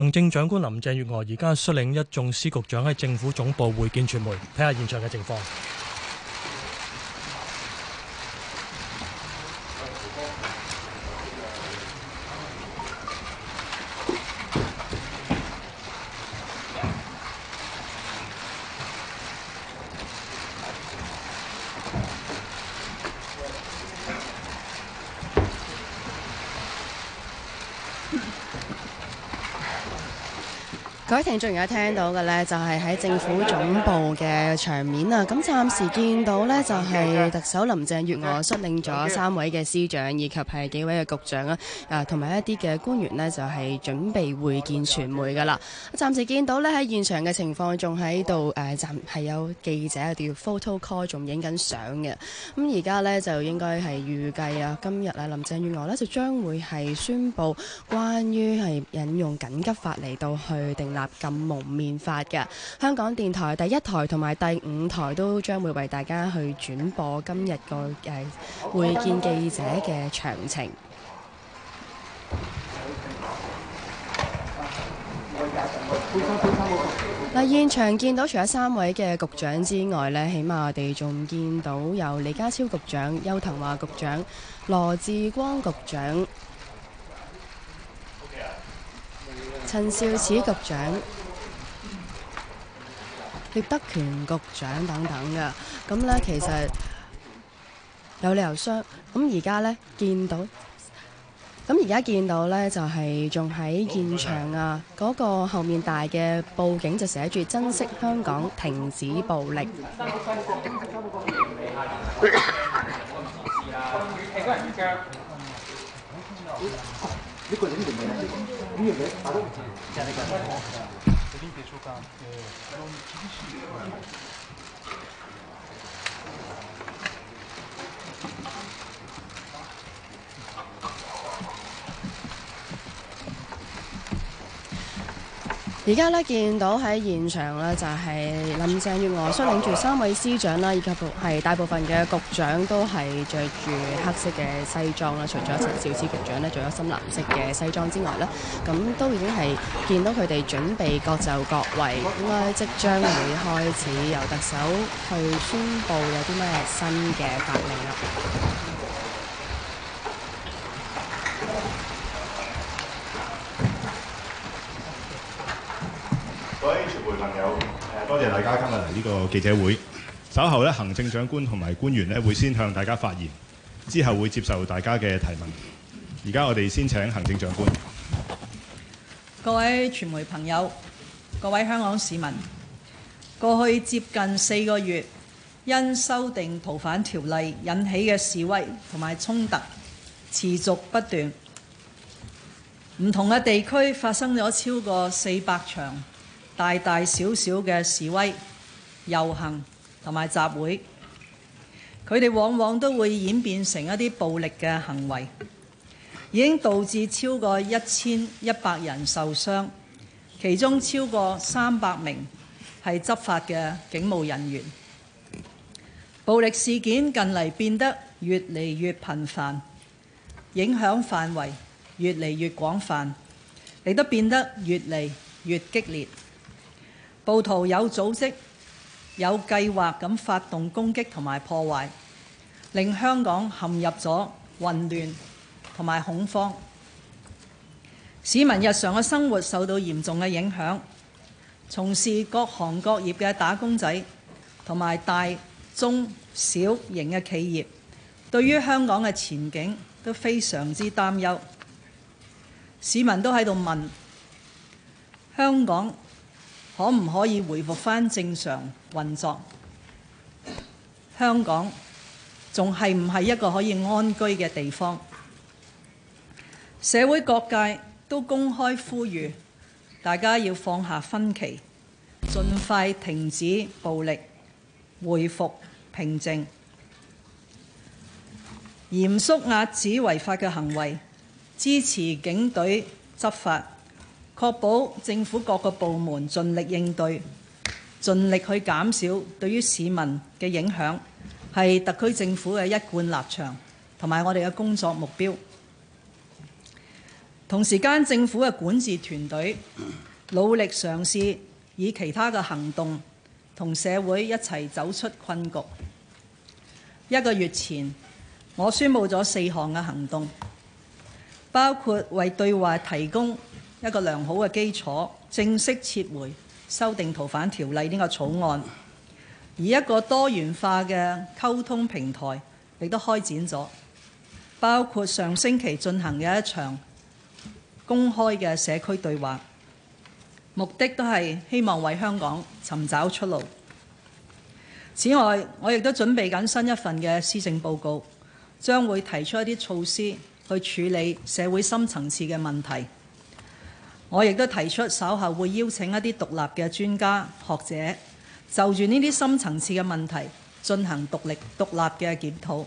行政長官林鄭月娥而家率領一眾司局長喺政府總部會見傳媒，睇下現場嘅情況。 各位聽眾而家聽到嘅呢，就係喺政府總部嘅場面啊！咁暫時見到呢，就係特首林鄭月娥率領咗3位嘅司長以及係幾位嘅局長啊，同埋一啲嘅官員呢，就係準備會見傳媒噶啦。暫時見到呢，喺現場嘅情況仲喺度係有記者要 photo call 仲影緊相嘅。咁而家呢，就應該係預計啊，今日啊林鄭月娥呢，就將會係宣布關於係引用緊急法嚟到去訂立禁蒙面法嘅。香港電台第1台同埋第5台都將會為大家去轉播今日個會見記者嘅詳情。嗱，現場見到除咗3位嘅局長之外呢，起碼我哋仲見到有李家超局長、邱騰華局長、羅致光局長、陳肇始局長、聶德權局長等等嘅。咁呢，其實有理由相咁而家呢見到。咁而家見到呢，就係仲喺現場啊！嗰個後面大嘅報警就寫住珍惜香港，停止暴力。而家呢見到喺現場呢，就係林鄭月娥率領住3位司長啦，以及係大部分嘅局長都係着住黑色嘅西裝啦，除咗陳肇始局長呢，着咗深藍色嘅西裝之外呢，咁都已經係見到佢哋準備各就各位，應該即將會開始由特首去宣佈有啲咩新嘅法令啦。 各位傳媒朋友，多謝大家今日嚟呢個記者會。稍後咧，行政長官同埋官員咧會先向大家發言，之後會接受大家嘅提問。而家我哋先請行政長官。 各位傳媒朋友，各位香港市民，過去接近4個月，因修訂逃犯條例引起嘅示威同埋衝突持續不斷，唔同嘅地區發生咗超過400場大大小小嘅示威、遊行同埋集會，佢哋往往都會演變成一啲暴力嘅行為，已經導致超過1100人受傷，其中超過300名係執法嘅警務人員。暴力事件近嚟變得越嚟越頻繁，影響範圍越嚟越廣泛，亦都變得越嚟越激烈。暴徒有組織、有計劃咁發動攻擊同埋破壞，令香港陷入咗混亂同埋恐慌。市民日常嘅生活受到嚴重嘅影響，從事各行各業嘅打工仔同埋大中小型嘅企業，對於香港嘅前景都非常之擔憂。市民都喺度問：香港可唔可以回復返正常運作？香港仲係唔係一個可以安居嘅地方？社會各界都公開呼籲大家要放下分歧，盡快停止暴力，恢復平靜，嚴肅遏止違法嘅行為，支持警隊執法，確保政府各個部門盡力應對，盡力去減少對於市民嘅影響，係特區政府嘅一貫立場同埋我哋嘅工作目標。 同時間，政府嘅管治團隊努力嘗試以其他嘅行動同社會一齊走出困局。1個月前，我宣布咗4項嘅行動，包括為對話提供一個良好嘅基礎，正式撤回修訂逃犯條例呢個草案，而一個多元化嘅溝通平台亦都開展咗，包括上星期進行嘅一場公開嘅社區對話，目的都係希望為香港尋找出路。此外，我亦都準備緊新一份嘅施政報告，將會提出一啲措施去處理社會深層次嘅問題。我亦都提出稍後會邀請一啲獨立嘅專家學者，就住呢啲深層次嘅問題進行獨立嘅檢討。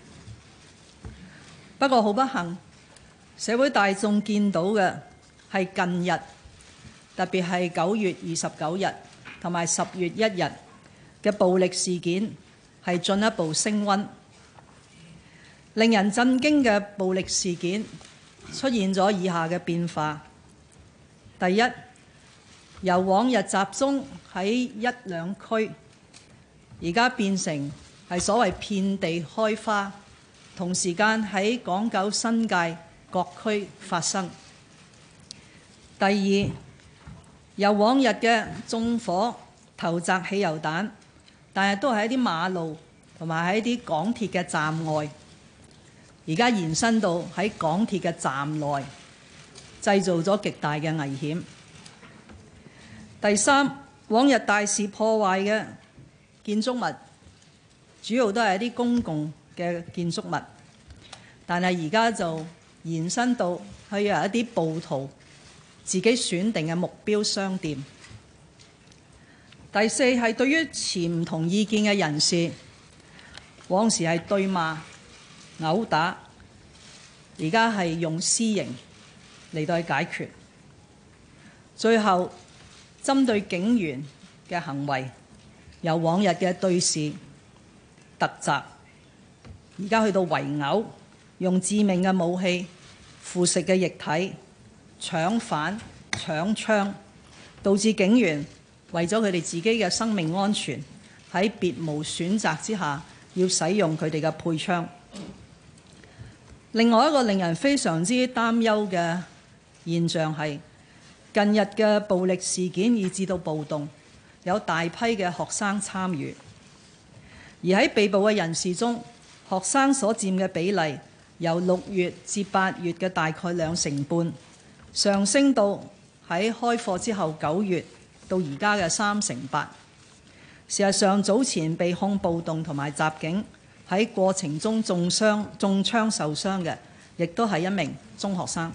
不過好不幸，社會大眾見到嘅係近日，特別係9月29日同埋10月1日嘅暴力事件係進一步升溫。令人震驚嘅暴力事件出現咗以下嘅變化：第一，由往日集中喺1兩區，而家變成係所謂遍地開花，同時間喺港九新界各區發生。第二，由往日嘅縱火、投擲汽油彈，但係都係一啲馬路同埋喺啲港鐵嘅站外，而家延伸到喺港鐵嘅站內，製造咗極大嘅危險。第三，往日大肆破壞嘅建築物，主要都係一啲公共嘅建築物，但係而家就延伸到去由一啲暴徒自己選定嘅目標商店。第四，係對於持唔同意見嘅人士，往時係對罵、毆打，而家係用私刑嚟到去解決。最後，針對警員嘅行為，由往日嘅對視、突襲，而家去到圍毆，用致命嘅武器、腐蝕嘅液體、搶犯、搶槍，導致警員為咗佢哋自己嘅生命安全，喺別無選擇之下，要使用佢哋嘅配槍。另外一個令人非常之擔憂嘅現象係，近日嘅暴力事件以至到暴動，有大批嘅學生參與，而喺被捕嘅人士中，學生所佔嘅比例由6月至8月嘅大概2成半，上升到喺開課之後9月到而家嘅3成8。事實上，早前被控暴動同埋襲警，喺過程中中槍受傷嘅，亦都係一名中學生。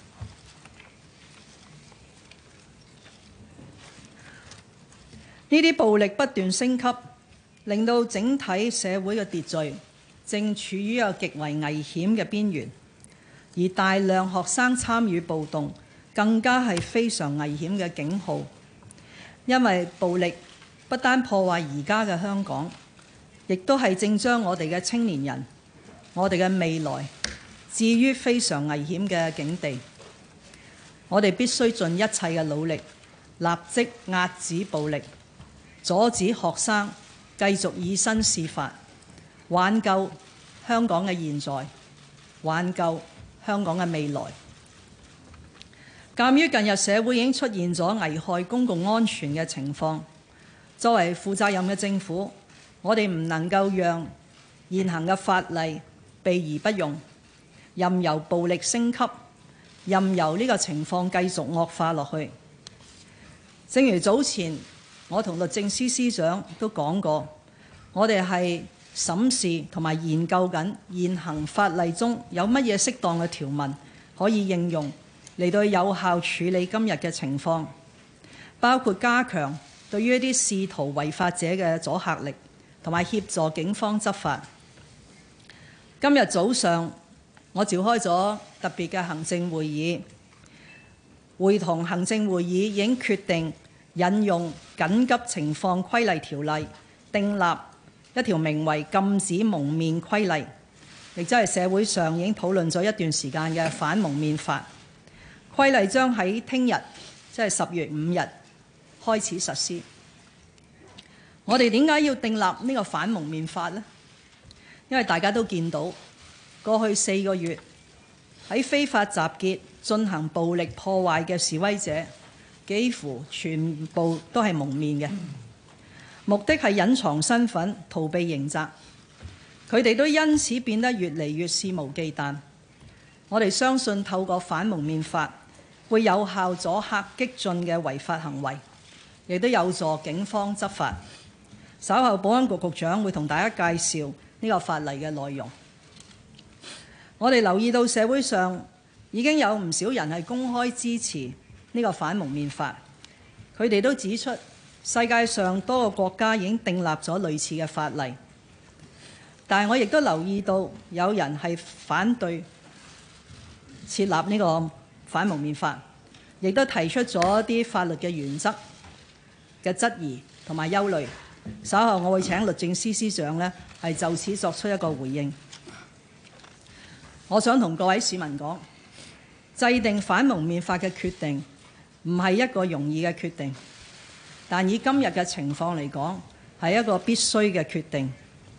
呢啲暴力不斷升級，令到整體社會嘅秩序正處於一個極為危險嘅邊緣，而大量學生參與暴動，更加係非常危險嘅警號。因為暴力不單破壞而家嘅香港，亦都係正將我哋嘅青年人、我哋嘅未來置於非常危險嘅境地。我哋必須盡一切嘅努力，立即壓止暴力，阻止學生繼續以身試法，挽救香港嘅現在，挽救香港嘅未來。鑑於近日社會已經出現咗危害公共安全嘅情況，作為負責任嘅政府，我哋唔能夠讓現行嘅法例避而不用，任由暴力升級，任由呢個情況繼續惡化落去。正如早前我同律政司司長都講過，我哋係審視同埋研究緊現行法例中有乜嘢適當嘅條文可以應用嚟到有效處理今日嘅情況，包括加強對於一啲試圖違法者嘅阻嚇力，同埋協助警方執法。今日早上我召開咗特別嘅行政會議，會同行政會議已經決定引用緊急情況規例條例，訂立一條名為禁止蒙面規例，亦即係社會上已經討論咗一段時間嘅反蒙面法。 規例將喺聽日，即係10月5日開始實施。我哋點解要訂立呢個反蒙面法呢？因為大家都見到過去4個月喺非法集結進行暴力破壞嘅示威者，幾乎全部都係蒙面嘅，目的係隱藏身份、逃避刑責。佢哋都因此變得越嚟越肆無忌憚。我哋相信透過反蒙面法會有效阻嚇激進嘅違法行為，亦都有助警方執法。稍後保安局局長會同大家介紹呢個法例嘅內容。我哋留意到社會上已經有唔少人係公開支持呢個反蒙面法，佢哋都指出世界上多個國家已經訂立咗類似嘅法例，但係我亦都留意到有人係反對設立呢個反蒙面法，亦都提出咗一啲法律嘅原則嘅質疑同埋憂慮。稍後我會請律政司司長呢係就此作出一個回應。我想同各位市民講，制定反蒙面法嘅決定唔係一個容易嘅決定，但以今日嘅情況嚟講，係一個必須嘅決定。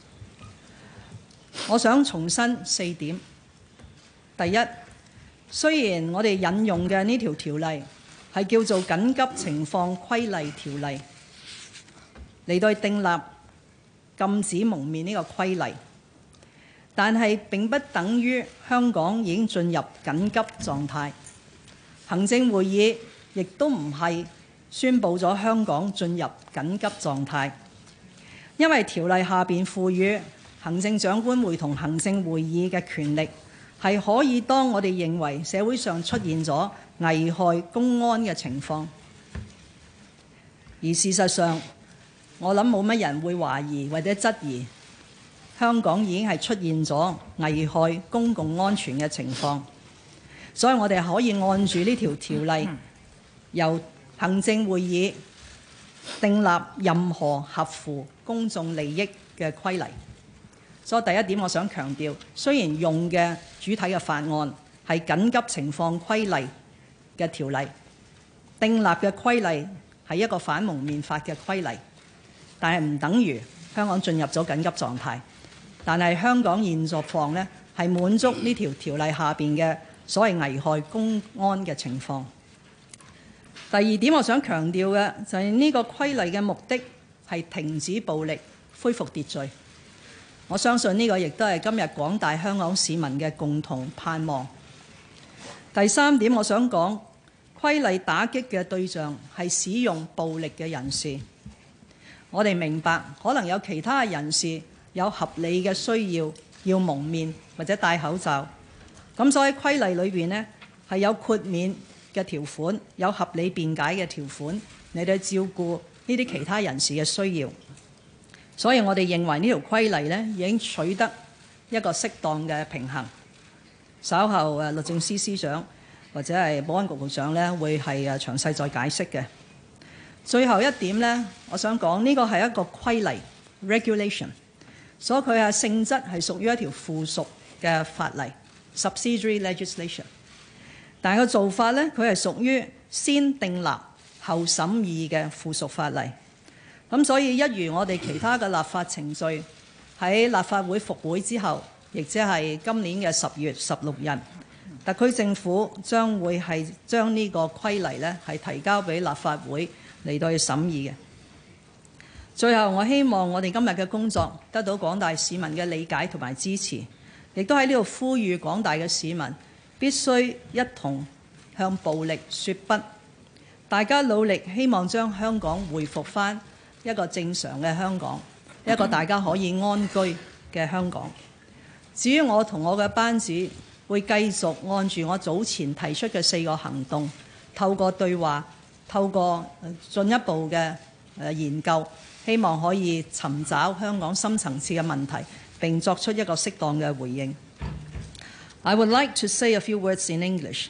我想重申4點。第一，雖然我哋引用嘅呢條條例係叫做緊急情況規例條例，嚟到訂立禁止蒙面呢個規例，但係並不等於香港已經進入緊急狀態。行政會議亦都唔係宣布咗香港進入緊急狀態，因為條例下邊賦予行政長官會同行政會議嘅權力，係可以當我哋認為社會上出現咗危害公安嘅情況，而事實上我諗冇乜人會懷疑或者質疑香港已經係出現咗危害公共安全嘅情況，所以我哋可以按住呢條條例，由行政會議訂立任何合乎公眾利益嘅規例。所以第一點我想強調，雖然用嘅主體嘅法案係緊急情況規例嘅條例，訂立嘅規例係一個反蒙面法嘅規例，但係唔等於香港進入咗緊急狀態。但係香港現狀況呢，係滿足呢條條例下邊嘅所謂危害公安嘅情況。第二點我想強調嘅就係呢個規例嘅目的係停止暴力、恢復秩序。我相信呢個亦都係今日廣大香港市民嘅共同盼望。第三點我想講，規例打擊嘅對象係使用暴力嘅人士。我哋明白可能有其他人士有合理嘅需要蒙面或者戴口罩，咁所以規例裏邊呢係有豁免嘅條款，有合理辯解嘅條款嚟到照顧呢啲其他人士嘅需要。所以我哋認為呢條規例呢已經取得一個適當嘅平衡。稍後律政司司長或者係保安局局長呢會係詳細再解釋嘅。最後一點呢，我想講呢個係一個規例 regulation， 所以佢嘅性質係屬於一條附屬嘅法例 subsidiary legislation， 但係個做法呢，佢係屬於先訂立後審議嘅附屬法例。咁所以一如我哋其他嘅立法程序，喺立法會復會之後，亦即係今年嘅10月16日，特區政府將會係將呢個規例呢係提交俾立法會嚟到去審議嘅。最後我希望我哋今日嘅工作得到廣大市民嘅理解同埋支持，亦都喺呢度呼籲廣大嘅市民必須一同向暴力說不，大家努力希望將香港回復返一個正常嘅香港，一個大家可以安居嘅香港。至於我同我嘅班子會繼續按住我早前提出嘅4個行動，透過對話，透過進一步嘅研究，希望可以尋找香港深層次嘅問題，並作出一個適當嘅回應。I would like to say a few words in English.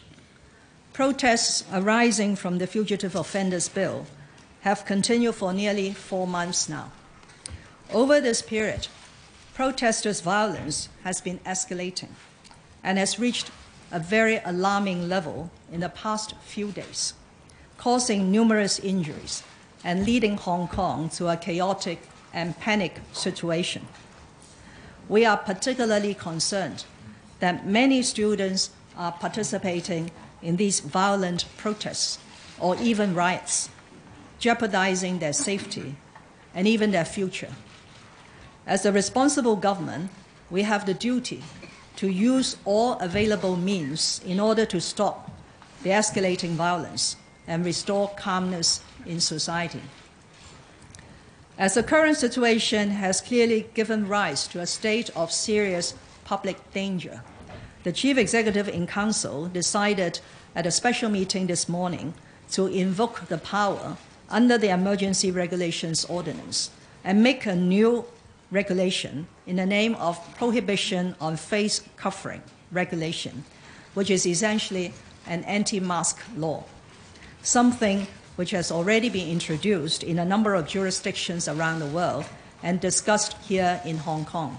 Protests arising from the Fugitive Offenders Bill have continued for nearly 4 months now. Over this period, protesters' violence has been escalating and has reached a very alarming level in the past few days, causing numerous injuries and leading Hong Kong to a chaotic and panic situation. We are particularly concerned that many students are participating in these violent protests or even riots, jeopardizing their safety and even their future. As a responsible government, we have the duty to use all available means in order to stop the escalating violence and restore calmness in society. As the current situation has clearly given rise to a state of serious public danger, the Chief Executive in Council decided at a special meeting this morning to invoke the power under the Emergency Regulations Ordinance and make a new regulation in the name of Prohibition on Face Covering Regulation, which is essentially an anti-mask law, something which has already been introduced in a number of jurisdictions around the world and discussed here in Hong Kong.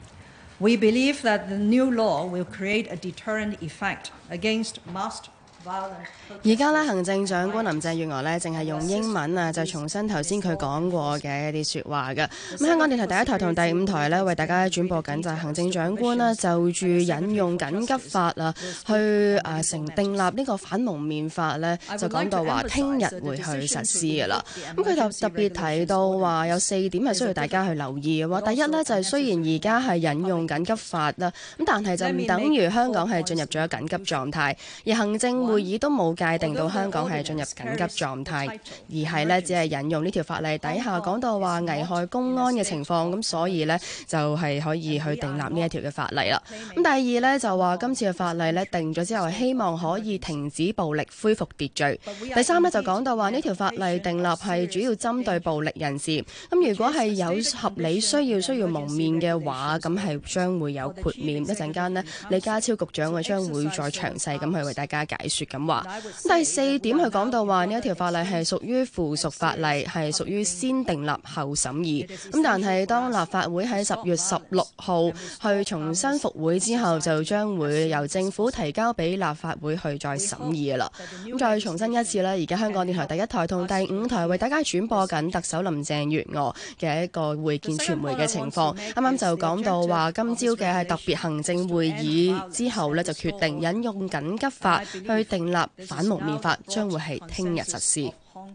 We believe that the new law will create a deterrent effect against masked violent. 而家咧，行政長官林鄭月娥咧，淨係用英文啊，就重申頭先佢講過嘅一啲説話嘅。咁香港電台第一台同第5台咧，為大家轉播緊就係行政長官啦，就住引用緊急法啊，去訂立呢個反蒙面法咧，就講到話聽日會去實施嘅啦。咁佢就特別提到話有4點係需要大家去留意嘅喎。第一咧就係雖然而家係引用緊急法啦，咁但係就唔等於香港係進入咗緊急狀態，而行政會議都冇界定到香港係進入緊急狀態，而係咧只係引用呢條法例底下講到話危害公安嘅情況，咁所以咧就係可以去訂立呢一條嘅法例啦。咁第二咧就話今次嘅法例咧定咗之後，希望可以停止暴力，恢復秩序。第三咧就講到話呢條法例訂立係主要針對暴力人士，咁如果係有合理需要蒙面嘅話，咁係將會有豁免。一陣間呢，李家超局長會將會再詳細咁去為大家解說咁話。第4點佢講到話呢一條法例係屬於附屬法例，係屬於先訂立後審議。咁但係當立法會喺10月16號去重新復會之後，就將會由政府提交俾立法會去再審議嘅啦。咁再重申一次啦，而家香港電台第1台同第5台為大家轉播緊特首林鄭月娥嘅一個會見傳媒嘅情況。啱啱就講到話今朝嘅係特別行政會議之後呢，就決定引用緊急法去訂立反蒙面法，將會係聽日實施。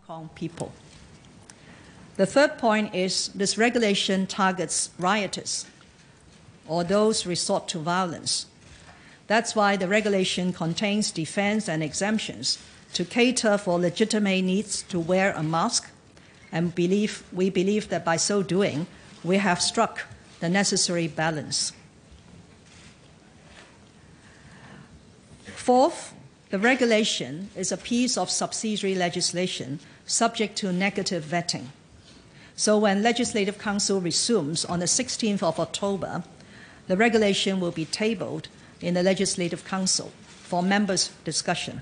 The third point is this regulation targets rioters or those resort to violence. That's why the regulation contains defense and exemptions to cater for legitimate needs to wear a mask, and we believe that by so doing, we have struck the necessary balance. Fourth, the regulation is a piece of subsidiary legislation subject to negative vetting. So when Legislative Council resumes on the 16th of October, the regulation will be tabled in the Legislative Council for members' discussion.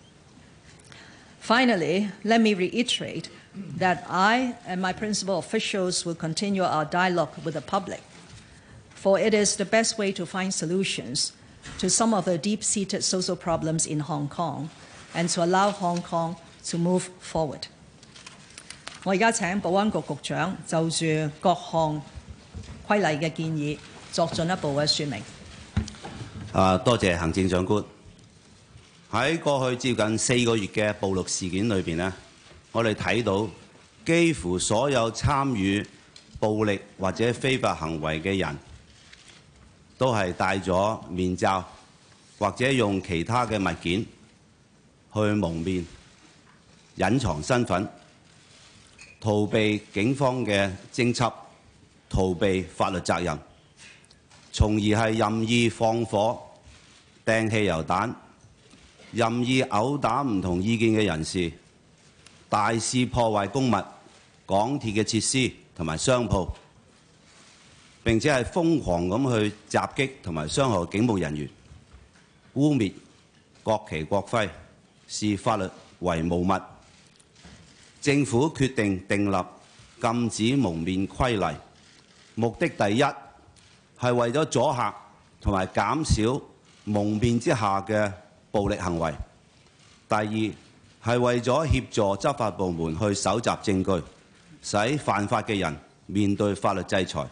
Finally, let me reiterate that I and my principal officials will continue our dialogue with the public, for it is the best way to find solutions to some of the deep-seated social problems in Hong Kong and to allow Hong Kong to move forward. 我而家請保安局局長就住各項規例嘅建議作進一步嘅說明。 多謝行政長官。喺過去接近4個月嘅暴力事件裏邊呢，我哋睇到幾乎所有參與暴力或者非法行為嘅人，都係戴咗面罩，或者用其他嘅物件去蒙面，隱藏身份，逃避警方嘅偵緝，逃避法律責任，從而係任意放火、掟汽油彈、任意毆打唔同意見嘅人士，大肆破壞公物、港鐵嘅設施同埋商鋪，並且係瘋狂咁去襲擊同埋傷害警務人員，污蔑國旗國徽，視法律為無物。政府決定訂立禁止蒙面規例，目的第一係為咗阻嚇同埋減少蒙面之下嘅暴力行為。第二係為咗協助執法部門去搜集證據，使犯法嘅人面對法律制裁。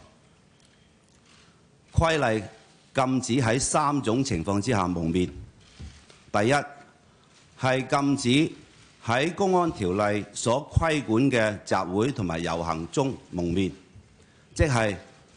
規例禁止喺3種情況之下蒙面。第一係禁止喺公安條例所規管嘅集會同埋遊行中蒙面，即係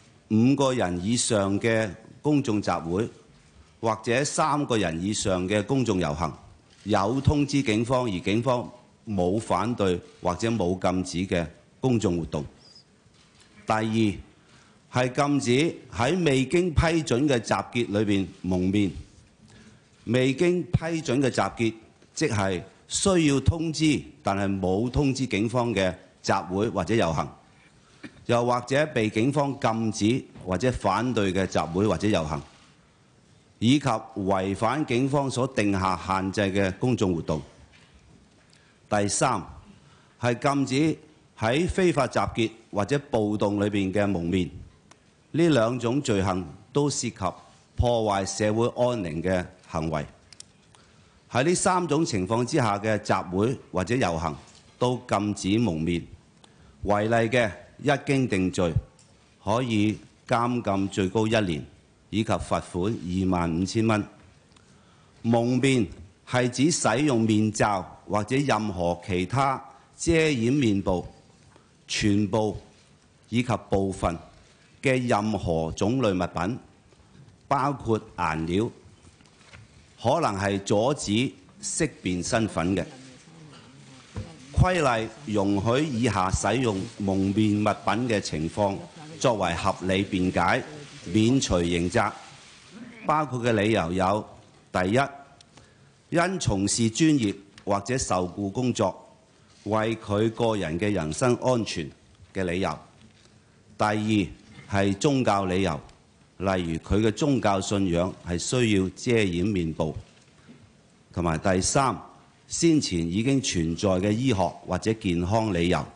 5個人以上嘅公眾集會，或者3個人以上嘅公眾遊行，有通知警方而警方冇反對或者冇禁止嘅公眾活動。第二係禁止喺未經批准嘅集結裏邊蒙面。未經批准嘅集結，即係需要通知但係冇通知警方嘅集會或者遊行，又或者被警方禁止或者反對嘅集會或者遊行，以及違反警方所定下限制嘅公眾活動。第三係禁止喺非法集結或者暴動裏邊嘅蒙面。呢2種罪行都涉及破壞社會安寧嘅行為。喺呢3種情況之下嘅集會或者遊行都禁止蒙面。違例嘅一經定罪，可以監禁最高1年，以及罰款25,000蚊。蒙面係指使用面罩或者任何其他遮掩面部、全部以及部分嘅任何種類物品，包括顏料，可能係阻止識別身份嘅。規例容許以下使用蒙面物品嘅情況作為合理辯解，免除刑責。包括嘅理由有：第一，因從事專業或者受僱工作，為佢個人嘅人身安全嘅理由；第二係宗教理由，例如佢嘅宗教信仰係需要遮掩面部；同埋第三，先前已經存在嘅醫學或者健康理由。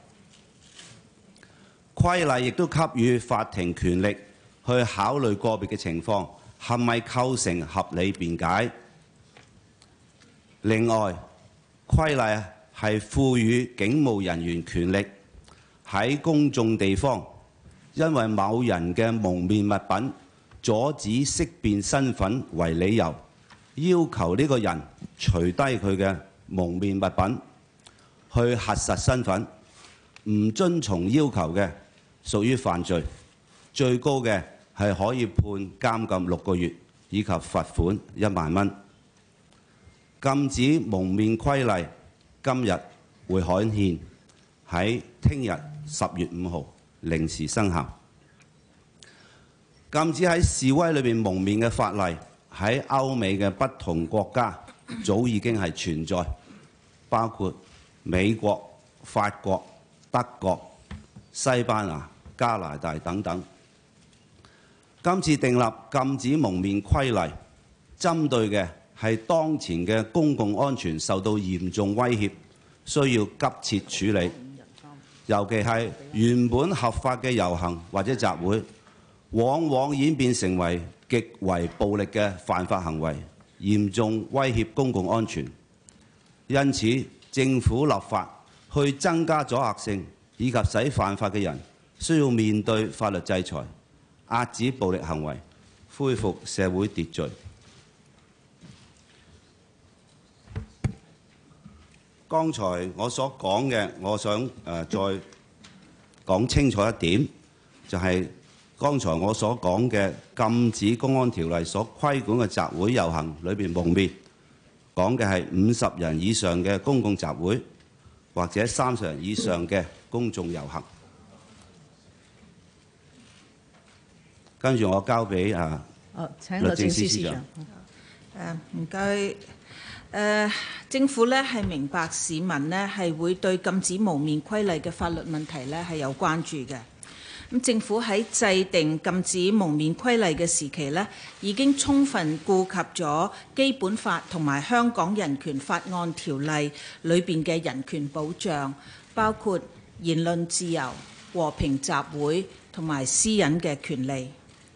規例亦都給予法庭權力去考慮個別嘅情況係咪構成合理辯解。另外，規例係賦予警務人員權力喺公眾地方，因為某人嘅蒙面物品阻止識別身份為理由，要求呢個人除低佢嘅蒙面物品去核實身份，唔遵從要求嘅屬於犯罪，最高嘅係可以判監禁6個月以及罰款1萬蚊。禁止蒙面規例今日會刊憲，喺聽日10月5號零時生效。禁止喺示威裏邊蒙面嘅法例喺歐美嘅不同國家早已經係存在，包括美國、法國、德國、西班牙、加拿大等等。今次訂立禁止蒙面規例，針對嘅係當前嘅公共安全受到嚴重威脅，需要急切處理。尤其係原本合法嘅遊行或者集會，往往演變成為極為暴力嘅犯法行為，嚴重威脅公共安全。因此，政府立法去增加阻嚇性，以及使犯法嘅人需要面對法律制裁，遏止暴力行為，恢復社會秩序。剛才我所講嘅，我想再講清楚一點，就係剛才我所講嘅禁止公安條例所規管嘅集會遊行裏邊蒙面，講嘅係50人以上嘅公共集會，或者30人以上嘅公眾遊行。跟住我交俾請律政司司長。唔該。政府咧係明白市民咧係會對禁止蒙面規例嘅法律問題咧係有關注嘅。咁政府喺制定禁止蒙面規例嘅時期咧，已經充分顧及咗基本法同埋香港人權法案條例裏邊嘅人權保障，包括言論自由、和平集會同埋私隱嘅權利。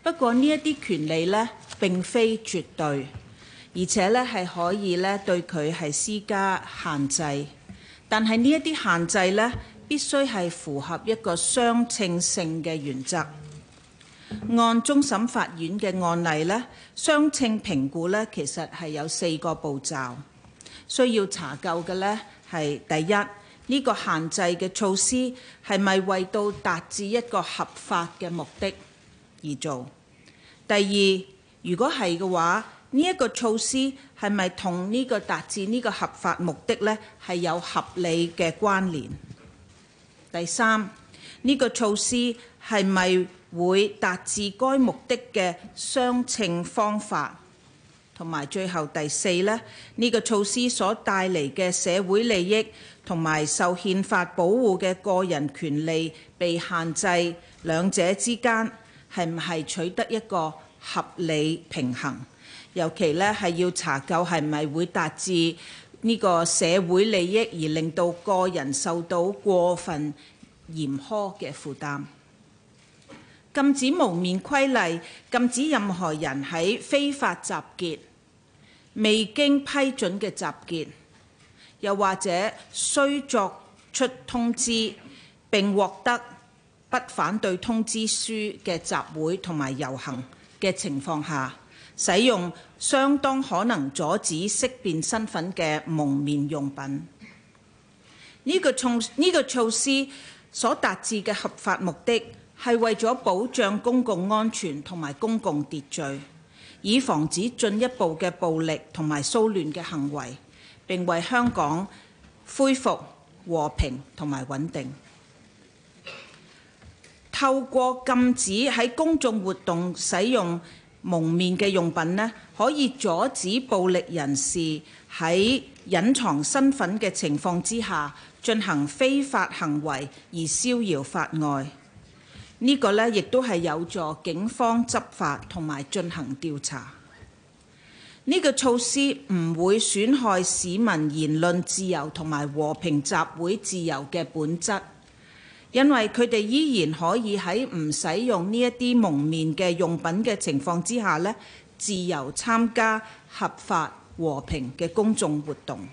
不過呢一啲權利呢並非絕對，而且呢係可以呢對佢係施加限制。但係呢一啲限制呢必須係符合一個相稱性嘅原則。按終審法院嘅案例呢，相稱評估呢其實係有4個步驟，需要查究嘅呢係第一，呢個限制嘅措施係咪為到達至一個合法嘅目的而做？第二，如果係嘅話，呢一個措施係咪同呢個達至呢個合法目的呢係有合理嘅關聯？第三，呢個措施係咪會達至該目的嘅相稱方法？同埋最後第四呢，呢個措施所帶嚟嘅社會利益同埋受憲法保護嘅個人權利被限制，兩者之間係唔係取得一個合理平衡？尤其呢係要查究係咪會達至呢個社會利益而令到個人受到過分嚴苛嘅負擔。禁止蒙面規例禁止任何人喺非法集結、未經批准嘅集結，又或者需作出通知並獲得不反對通知書嘅集會同埋遊行嘅情況下，使用相當可能阻止識別身份嘅蒙面用品。呢個措施所達至嘅合法目的係為咗保障公共安全同埋公共秩序，以防止進一步嘅暴力同埋騷亂嘅行為，並為香港恢復和平同埋穩定。透過禁止喺公眾活動使用蒙面嘅用品呢，可以阻止暴力人士喺隱藏身份嘅情況之下進行非法行為而逍遙法外。呢個呢亦都係有助警方執法同埋進行調查。呢個措施唔會損害市民言論自由同埋和平集會自由嘅本質，因為佢哋依然可以喺唔使用呢一啲蒙面嘅用品嘅情況之下呢，自由參加合法和平嘅公眾活動。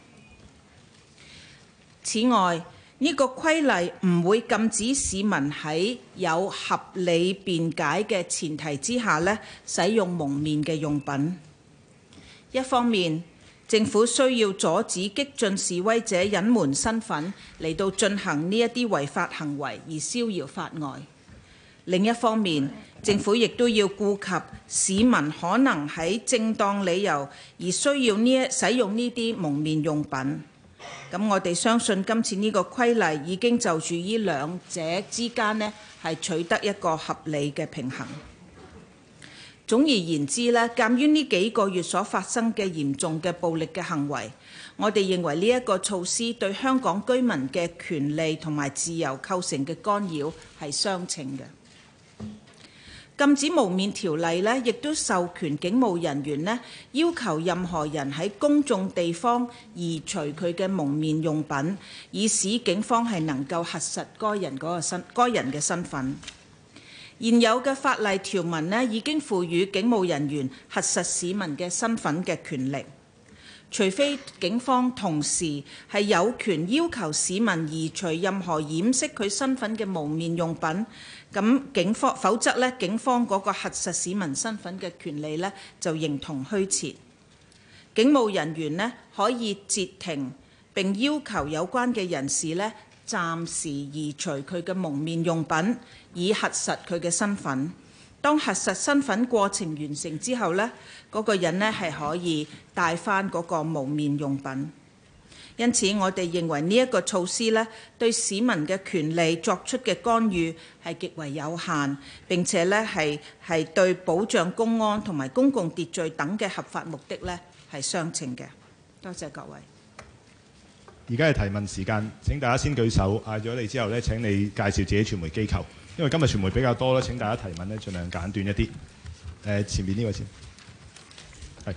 此外，呢個規例唔會禁止市民喺有合理辯解嘅前提之下呢，使用蒙面嘅用品。一方面，政府需要阻止激進示威者隱瞞身份嚟到進行呢一啲違法行為而逍遙法外。另一方面，政府亦都要顧及市民可能喺正當理由而需要使用呢啲蒙面用品。咁我哋相信今次呢個規例已經就住呢兩者之間呢係取得一個合理嘅平衡。總而言之呢，鑑於呢幾個月所發生嘅嚴重嘅暴力嘅行為，我哋認為呢一個措施對香港居民嘅權利同埋自由構成嘅干擾係相稱嘅。禁止蒙面條例呢，亦都授權警務人員呢要求任何人喺公眾地方移除佢嘅蒙面用品，以使警方係能夠核實該人嘅身份。現有嘅法例條文呢，已經賦予警務人員核實市民嘅身份嘅權力，除非警方同時係有權要求市民移除任何掩飾佢身份嘅蒙面用品，咁否則呢，警方嗰個核實市民身份嘅權利呢，就形同虛設。警務人員呢，可以截停並要求有關嘅人士呢，暫時移除佢嘅蒙面用品，以核實佢嘅身份。當核實身份過程完成之後呢，嗰個人呢係可以帶返嗰個蒙面用品。因此，我哋認為呢一個措施呢，對市民嘅權利作出嘅干預係極為有限，並且呢係對保障公安同埋公共秩序等嘅合法目的呢係相稱嘅。多謝各位。 而家係提問時間，請大家先舉手，嗌咗你之後呢，請你介紹自己傳媒機構。因為今日傳媒比較多咧，請大家提問呢，盡量簡短一啲。前面呢位先，係。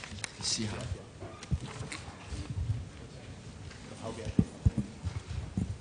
試下。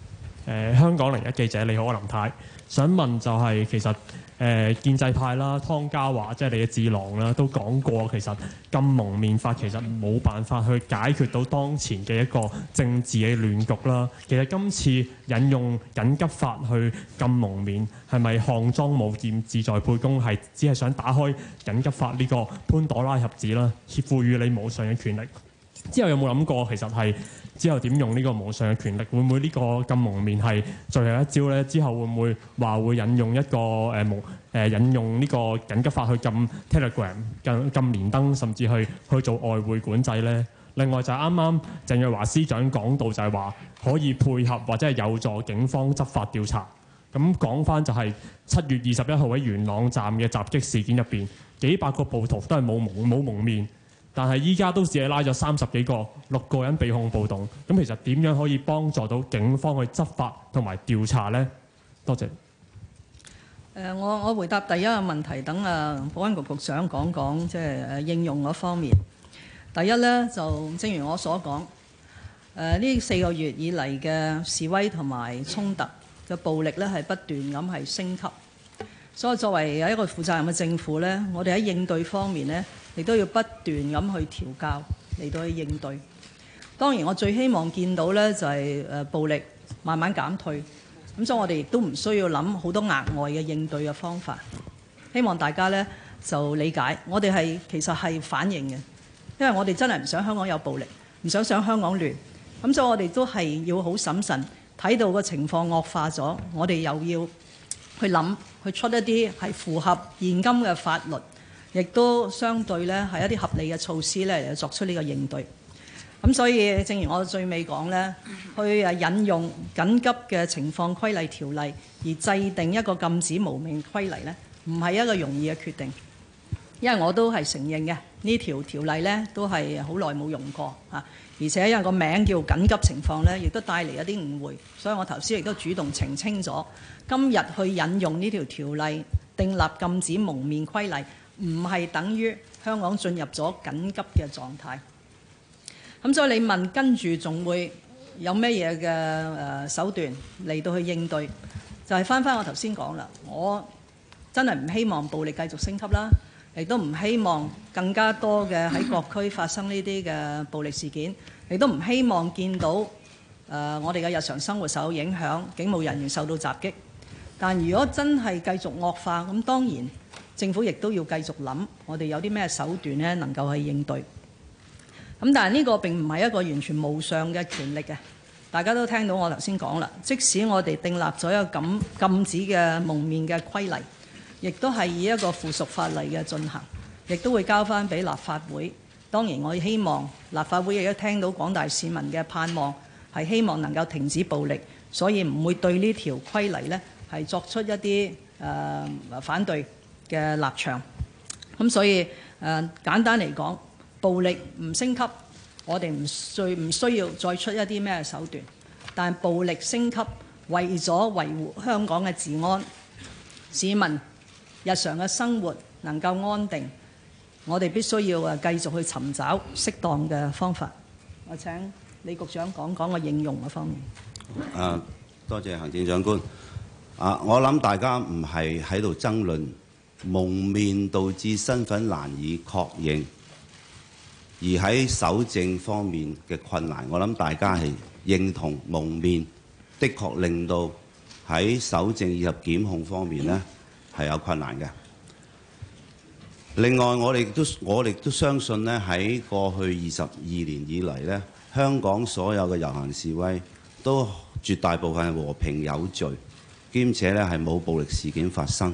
香港01記者，你好，我林太，想問就係其實建制派啦，湯家驊即係你嘅智囊啦，都講過其實禁蒙面法其實冇辦法去解決到當前嘅一個政治嘅亂局啦。其實今次引用緊急法去禁蒙面，係咪項莊舞劍，志在沛公，係只係想打開緊急法呢個潘朵拉盒子啦，賦予你無上嘅權力？之後有冇諗過其實係之後點用呢個無上嘅權力？會唔會呢個禁蒙面係最後一招呢？之後會唔會話會引用一個引用呢個緊急法去禁 Telegram、禁連登，甚至去做外匯管制呢？另外就係啱啱鄭若驊司長講到就係話可以配合或者係有助警方執法調查。咁講翻就係7月21號喺元朗站嘅襲擊事件入邊，幾百個暴徒都係冇蒙面。但係依家都只係拉咗30幾個，6個人被控暴動。咁其實點樣可以幫助到警方去執法同埋調查呢？多謝。 我回答第一個問題，等保安局局長講講即係應用嗰方面。第一呢，就正如我所講，呢4個月以嚟嘅示威同埋衝突嘅暴力呢係不斷咁係升級。所以作為一個負責任嘅政府呢，我哋喺應對方面呢，亦都要不斷咁去調教嚟到去應對。當然我最希望見到呢就係暴力慢慢減退，咁所以我哋亦都唔需要諗好多額外嘅應對嘅方法。希望大家呢就理解，我哋其實係反應嘅，因為我哋真係唔想香港有暴力，唔想香港亂。咁所以我哋都係要好審慎，睇到個情況惡化咗，我哋又要去諗去出一啲係符合現今嘅法律，亦都相對呢係一啲合理嘅措施呢嚟作出呢個應對。咁所以正如我最尾講呢，去引用緊急嘅情況規例條例而制定一個禁止蒙面規例呢，唔係一個容易嘅決定，因為我都係承認嘅呢條條例呢都係好耐冇用過啊，而且因為個名叫緊急情況呢，亦都帶嚟一啲誤會，所以我頭先亦都主動澄清咗，今日去引用呢條條例訂立禁止蒙面規例，唔係等於香港進入咗緊急嘅狀態。咁所以你問跟住仲會有咩嘢嘅手段嚟到去應對，就係翻我頭先講啦，我真係唔希望暴力繼續升級啦，亦都唔希望更加多嘅喺各區發生呢啲嘅暴力事件，亦都唔希望見到我哋嘅日常生活受到影響，警務人員受到襲擊。但如果真係繼續惡化，咁當然政府亦都要繼續諗，我哋有啲咩手段呢能夠去應對。咁但係呢個並唔係一個完全無上嘅權力嘅，大家都聽到我頭先講啦。即使我哋訂立咗一個禁止嘅蒙面嘅規例，亦都係以一個附屬法例嘅進行，亦都會交翻俾立法會。當然我希望立法會亦都聽到廣大市民嘅盼望，係希望能夠停止暴力，所以唔會對呢條規例呢係作出一啲反對嘅立場。咁所以簡單嚟講，暴力唔升級，我哋唔需要再出一啲咩手段。但暴力升級，為咗維護香港嘅治安，市民日常嘅生活能夠安定，我哋必須要繼續去尋找適當嘅方法。我請李局長講講個應用嘅方面。 多謝行政長官。我諗大家唔係喺度爭論蒙面導致身份難以確認，而喺搜證方面嘅困難，我諗大家係認同蒙面的確令到喺搜證以及檢控方面呢係有困難嘅。另外，我哋都相信呢喺過去22年以嚟呢，香港所有嘅遊行示威都絕大部分係和平有序，兼且呢係冇暴力事件發生。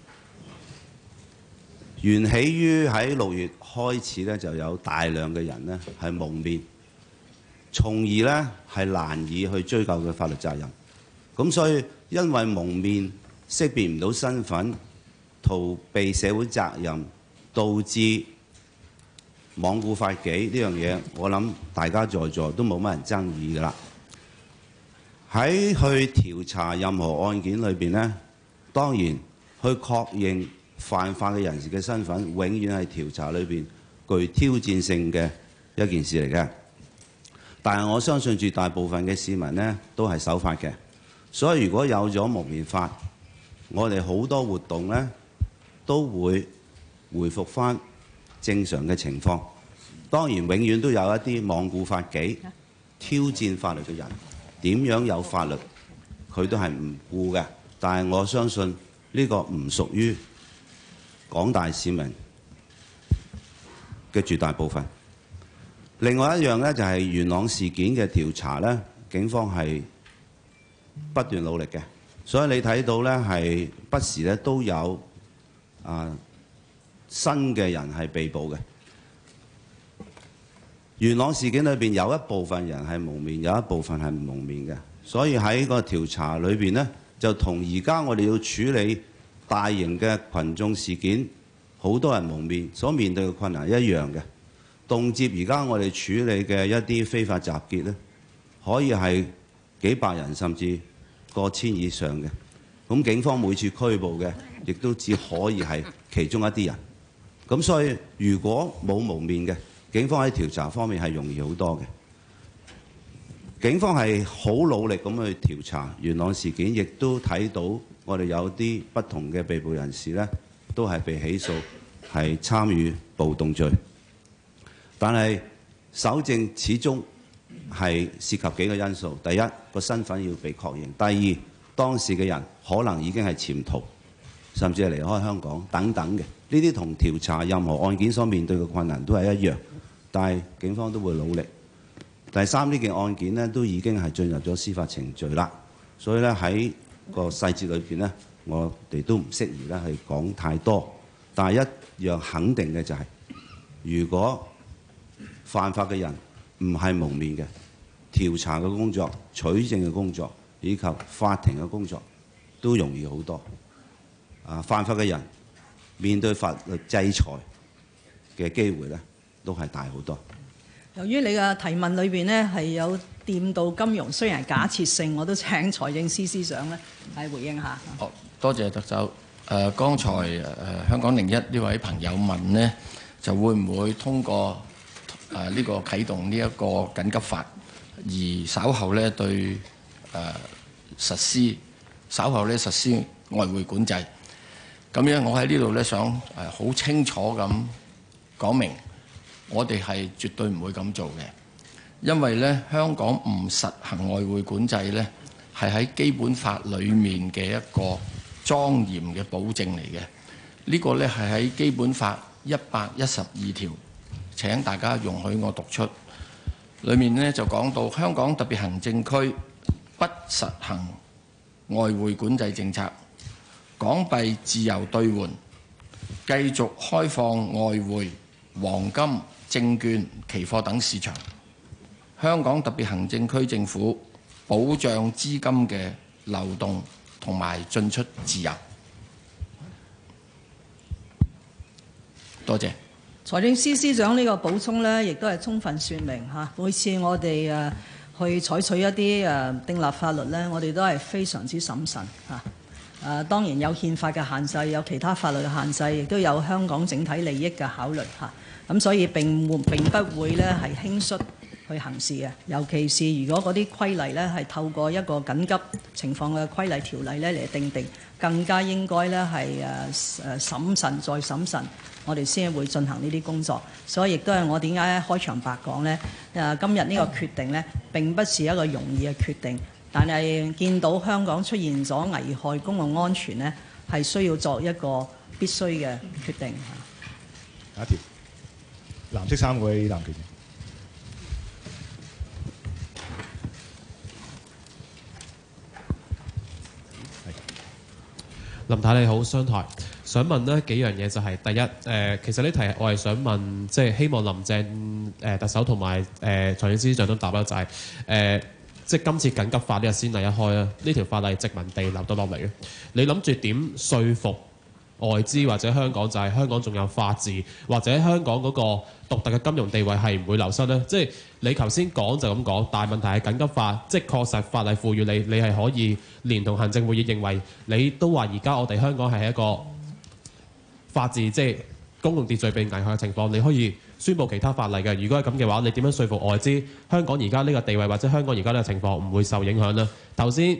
源起於喺6月開始呢，就有大量嘅人呢係蒙面，從而呢係難以去追究佢法律責任。咁所以因為蒙面識別唔到身份，逃避社會責任，導致罔顧法紀呢樣嘢，我諗大家在座都冇乜人爭議㗎啦。喺去調查任何案件裏邊呢，當然去確認犯法嘅人士嘅身份，永遠係調查裏邊具挑戰性嘅一件事嚟嘅。但係我相信絕大部分嘅市民呢都係守法嘅， 所以如果有咗蒙面法，我哋好多活動呢都會回復返正常嘅情況。當然，永遠都有一啲罔顧法紀、挑戰法律嘅人，點樣有法律佢都係唔顧嘅。但係我相信呢個唔屬於廣大市民嘅絕大部分。另外一樣呢，就係元朗事件嘅調查呢，警方係不斷努力嘅，所以你睇到呢，係不時呢都有新嘅人係被捕嘅。元朗事件裏邊有一部分人係蒙面，有一部分係唔蒙面嘅，所以喺個調查裏邊呢，就同而家我哋要處理大型嘅群眾事件，好多人蒙面所面對嘅困難一樣嘅。動輒而家我哋處理嘅一啲非法集結呢，可以係幾百人甚至過千以上嘅。咁警方每次拘捕嘅，亦都只可以係其中一啲人。咁所以如果冇蒙面嘅，警方喺調查方面係容易好多嘅。警方係好努力咁去調查元朗事件，亦都睇到我哋有啲不同嘅被捕人士呢，都係被起訴係參與暴動罪。但係搜證始終係涉及幾個因素：第一，個身份要被確認；第二，當時嘅人可能已經係潛逃，甚至係離開香港等等嘅。呢啲同調查任何案件所面對嘅困難都係一樣。但係警方都會努力。第三，呢件案件呢都已經係進入咗司法程序啦，所以咧喺個細節裏邊呢，我哋都唔適宜咧去講太多。但係一樣肯定嘅就係，如果犯法嘅人唔係蒙面嘅，調查嘅工作、取證嘅工作以及法庭嘅工作都容易好多。犯法嘅人面對法律制裁嘅機會呢，都係大好多。 由於你嘅提問裏邊呢係有掂到金融，雖然係假設性，我都請財政司司長呢係回應下。 好，多謝特首。剛才香港01呢位朋友問呢，就會唔會通過呢個啟動呢一個緊急法，而稍後呢對實施外匯管制。咁樣我喺呢度呢想好清楚咁講明，我哋係絕對唔會咁做嘅，因為呢香港唔實行外匯管制呢，係喺基本法裡面嘅一個莊嚴嘅保證嚟嘅。呢個呢係喺基本法112條，請大家容許我讀出。裡面呢就講到香港特別行政區不實行外匯管制政策，港幣自由兌換，繼續開放外匯、黃金、證券、期貨等市場。香港特別行政區政府保障資金嘅流動同埋進出自由。多謝。 財政司司長呢個補充呢，亦都係充分説明嚇。每次我哋去採取一啲訂立法律呢，我哋都係非常之審慎嚇。當然有憲法嘅限制，有其他法律嘅限制，亦都有香港整體利益嘅考慮嚇。咁所以並不會呢係輕率去行事嘅。尤其是如果嗰啲規例呢係透過一個緊急情況嘅規例條例呢嚟定，更加應該呢係審慎再審慎，我哋先會進行呢啲工作。所以亦都係我點解開場白講呢，今日呢個決定呢並不是一個容易嘅決定，但係見到香港出現咗危害公共安全呢，係需要作一個必須嘅決定。 下一條，藍色衫嗰位男記者。 林太你好，商台想問呢幾樣嘢，就係第一，其實呢題我係想問，即係希望林鄭特首同埋財政司司長都答啦，就係即係今次緊急法呢個先例一開啦，呢條法例殖民地留到落嚟嘅，你諗住點說服外資或者香港，就係香港仲有法治，或者香港嗰個獨特嘅金融地位係唔會流失呢？即係你頭先講就咁講，但係問題係緊急法，即係確實法例賦予你係可以連同行政會議認為，你都話而家我哋香港係一個法治，即係公共秩序被危害嘅情況，你可以宣布其他法例嘅。如果係咁嘅話，你點樣說服外資香港而家呢個地位或者香港而家呢個情況唔會受影響呢？頭先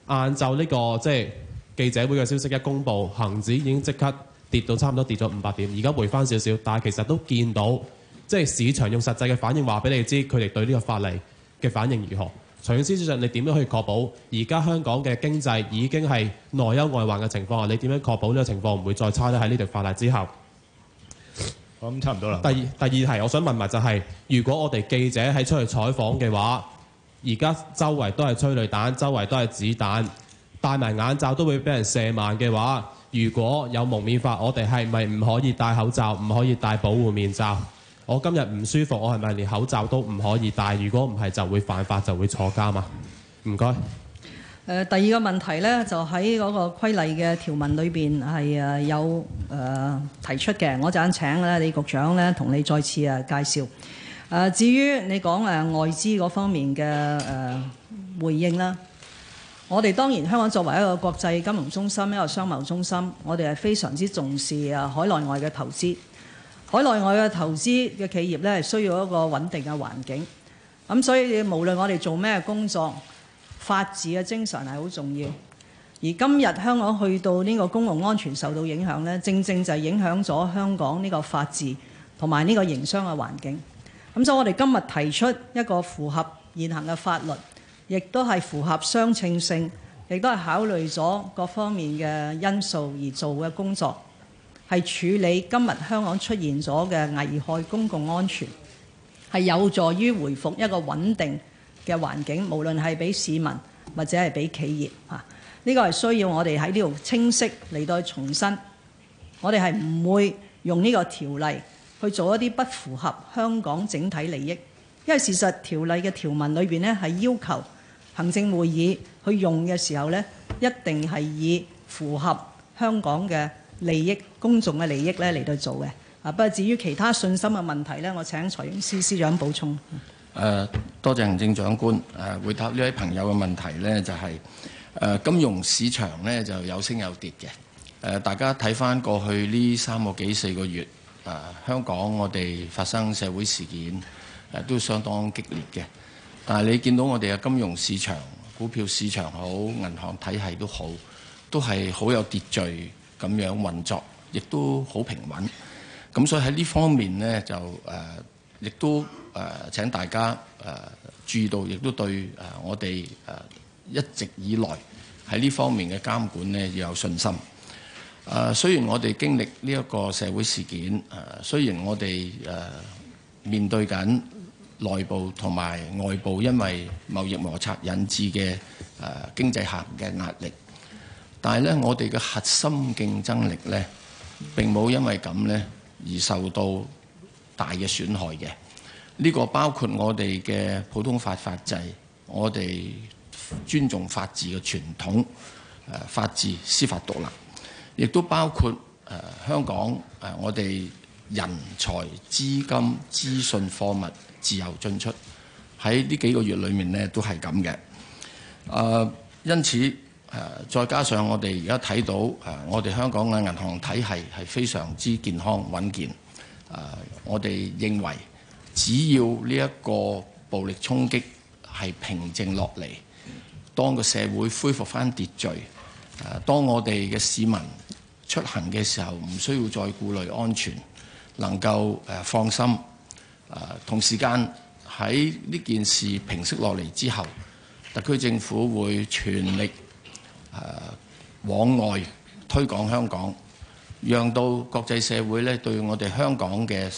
晏晝呢個即係記者會嘅消息一公佈，恒指已經即刻跌到差唔多跌咗500點，而家回翻少少，但係其實都見到即係市場用實際嘅反應話俾你知，佢哋對呢個法例嘅反應如何。財政司司長，你點樣可以確保而家香港嘅經濟已經係內憂外患嘅情況下，你點樣確保呢個情況唔會再差咧？喺呢條法例之後， 我諗差唔多啦。 第二題，我想問埋就係、如果我哋記者喺出去採訪嘅話，而家周圍都係催淚彈，周圍都係子彈，戴埋眼罩都會俾人射盲嘅話，如果有蒙面法，我哋係咪唔可以戴口罩，唔可以戴保護面罩？我今日唔舒服，我係咪連口罩都唔可以戴？如果唔係，就會犯法，就會坐監嘛？唔該。 第二個問題呢，就喺嗰個規例嘅條文裏邊係有提出嘅。我陣間請咧李局長咧同你再次介紹。至於你講外資嗰方面嘅回應啦，我哋當然香港作為一個國際金融中心、一個商貿中心，我哋係非常之重視海內外嘅投資。海內外嘅投資嘅企業咧係需要一個穩定嘅環境。咁所以無論我哋做咩工作，法治嘅精神係好重要。而今日香港去到呢個公共安全受到影響咧，正正就係影響咗香港呢個法治同埋呢個營商嘅環境。咁所以我哋今日提出一個符合現行嘅法律，亦都係符合相稱性，亦都係考慮咗各方面嘅因素而做嘅工作，係處理今日香港出現咗嘅危害公共安全，係有助於回復一個穩定嘅環境，無論係俾市民或者係俾企業嚇。呢個係需要我哋喺呢度清晰嚟到重申，我哋係唔會用呢個條例去做一啲不符合香港整體利益，因為事實條例嘅條文裏邊呢係要求行政會議去用嘅時候呢，一定係以符合香港嘅利益、公眾嘅利益咧嚟到做嘅。不過至於其他信心嘅問題呢，我請財政司司長補充。 多謝行政長官。回答呢位朋友嘅問題呢，就係、金融市場呢就有升有跌嘅。大家睇翻過去呢3個幾4個月，香港我哋發生社會事件都相當激烈嘅。但係你見到我哋嘅金融市場、股票市場好、銀行體系都好，都係好有秩序咁樣運作，亦都好平穩。咁所以喺呢方面呢，就亦都請大家注意到，亦都對我哋一直以來喺呢方面嘅監管呢要有信心。雖然我哋經歷呢一個社會事件，雖然我哋面對緊內部同埋外部因為貿易摩擦引致嘅經濟下行嘅壓力，但係咧我哋嘅核心競爭力咧並冇因為咁咧而受到大嘅損害嘅。呢個包括我哋嘅普通法法制，我哋尊重法治嘅傳統，法治司法獨立，亦都包括香港我哋人才、資金、資訊、貨物自由進出，喺呢幾個月裏面呢都係咁嘅。因此再加上我哋而家睇到我哋香港嘅銀行體系係非常之健康穩健。我哋認為只要呢一個暴力衝擊係平靜落嚟，當個社會恢復返秩序，當我哋嘅市民出行嘅時候唔需要再顧慮安全，能夠放心。同時間喺呢件事平息落嚟之後，特區政府會全力往外推廣香港，讓到國際社會咧對我哋香港嘅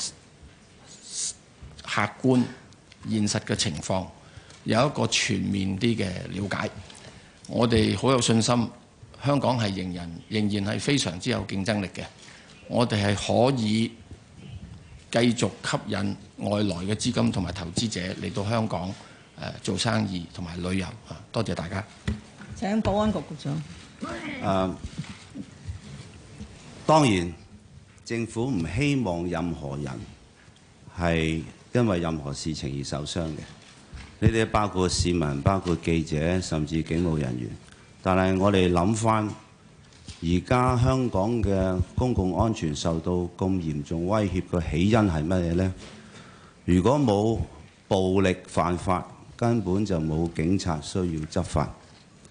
客觀現實嘅情況有一個全面啲嘅了解。我哋好有信心，香港係仍然係非常之有競爭力嘅。我哋係可以繼續吸引外來嘅資金同埋投資者嚟到香港做生意同埋旅遊。多謝大家。 請保安局局長。 當然，政府唔希望任何人係因為任何事情而受傷嘅。呢啲包括市民、包括記者，甚至警務人員。但係我哋諗翻，而家香港嘅公共安全受到咁嚴重威脅嘅起因係乜嘢呢？如果冇暴力犯法，根本就冇警察需要執法。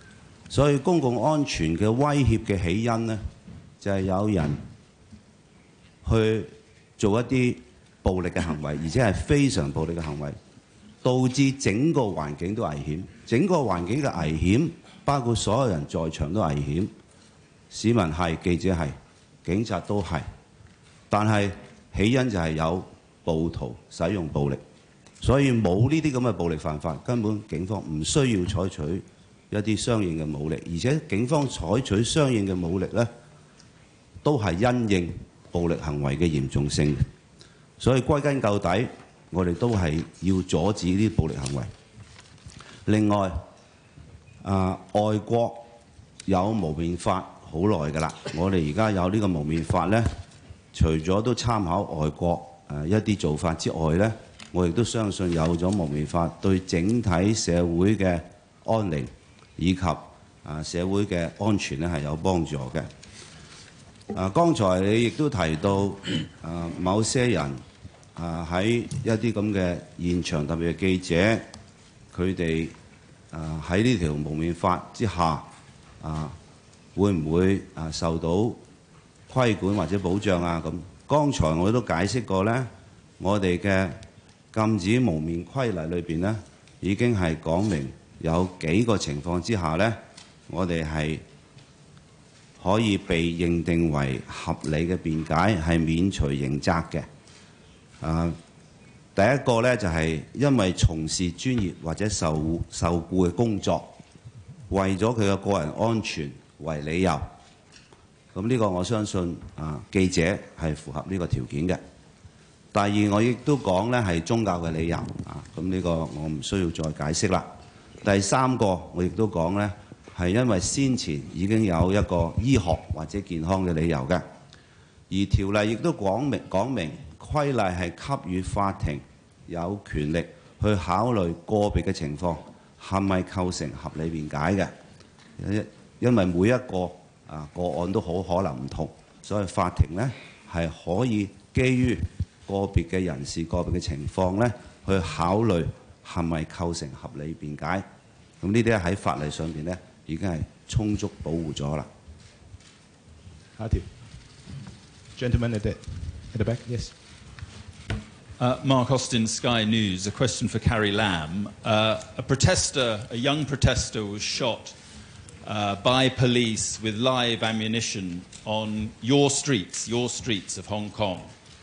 所以公共安全嘅威脅嘅起因呢，就係有人去做一啲暴力嘅行為，而且係非常暴力嘅行為，導致整個環境都危險。整個環境嘅危險，包括所有人在場都危險，市民係，記者係，警察都係。但係起因就係有暴徒使用暴力，所以冇呢啲咁嘅暴力犯法，根本警方唔需要採取一啲相應嘅武力，而且警方採取相應嘅武力呢，都係因應暴力行為嘅嚴重性。所以歸根究底，我哋都係要阻止呢啲暴力行為。另外，外國有蒙面法好耐㗎啦，我哋而家有呢個蒙面法呢，除咗都參考外國一啲做法之外呢，我亦都相信有咗蒙面法對整體社會嘅安寧以及社會嘅安全呢係有幫助嘅。剛才你亦都提到某些人喺一啲咁嘅現場，特別係記者，佢哋喺呢條蒙面法之下會唔會受到規管或者保障啊？咁剛才我都解釋過呢，我哋嘅禁止蒙面規例裏邊呢，已經係講明有幾個情況之下呢，我哋係可以被認定為合理嘅辯解，係免除刑責嘅。第一個呢，就係因為從事專業或者受僱嘅工作，為咗佢嘅個人安全為理由，咁呢個我相信記者係符合呢個條件嘅。第二，我亦都講呢係宗教嘅理由咁呢個我唔需要再解釋啦。第三個，我亦都講呢係因為先前已經有一個醫學或者健康嘅理由嘅，而條例亦都講明規例係給予法庭有權力去考慮個別嘅情況係咪構成合理辯解嘅，因為每一個個案都好可能唔同，所以法庭呢係可以基於個別嘅人士、個別嘅情況呢去考慮係咪構成合理辯解。咁呢啲喺法例上邊呢已經係充足保護咗啦。 下一條 ，Gentleman at the back, yes. Mark Austin, Sky News. A question for Carrie Lam. A young protester, was shot by police with live ammunition on your streets of Hong Kong.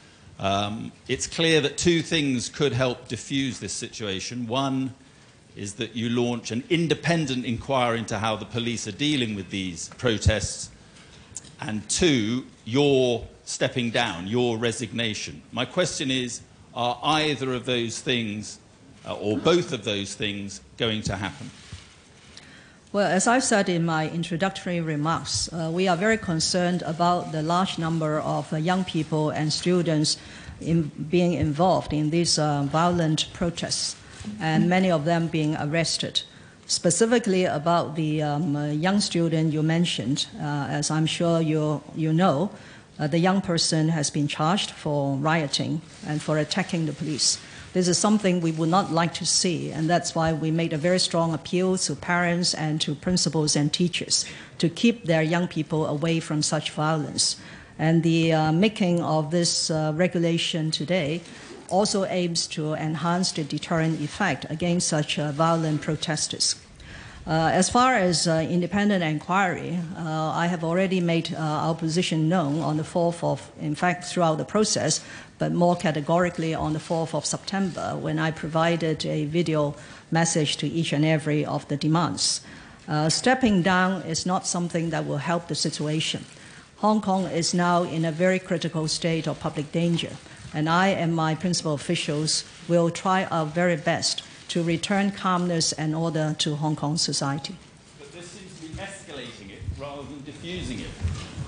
It's clear that two things could help diffuse this situation. One is that you launch an independent inquiry into how the police are dealing with these protests. And two, your stepping down, your resignation. My question is, are either of those things, or both of those things, going to happen? Well, as I said in my introductory remarks, we are very concerned about the large number of young people and students being involved in these violent protests, and many of them being arrested. Specifically about the young student you mentioned, as I'm sure you know, the young person has been charged for rioting and for attacking the police. This is something we would not like to see, and that's why we made a very strong appeal to parents and to principals and teachers to keep their young people away from such violence. And the making of this regulation today also aims to enhance the deterrent effect against such violent protesters. As far as independent inquiry, I have already made our position known on the 4th of, in fact, throughout the process, but more categorically on the 4th of September, when I provided a video message to each and every of the demands. Stepping down is not something that will help the situation. Hong Kong is now in a very critical state of public danger, and I and my principal officials will try our very best to return calmness and order to Hong Kong society. But this seems to be escalating it rather than diffusing it.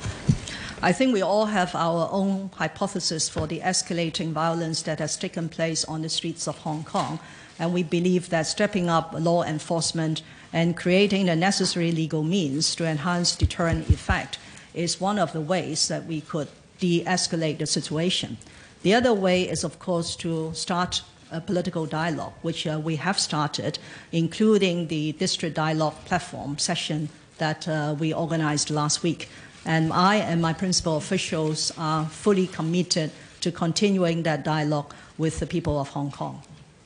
I think we all have our own hypothesis for the escalating violence that has taken place on the streets of Hong Kong, and we believe that stepping up law enforcement and creating the necessary legal means to enhance deterrent effect is one of the ways that we could de-escalate the situation. The other way is, of course, to start a political dialogue, which we have started, including the District Dialogue Platform, Session that we organized last week. And I and my principal officials are fully committed to continuing that dialogue with the people of Hong Kong.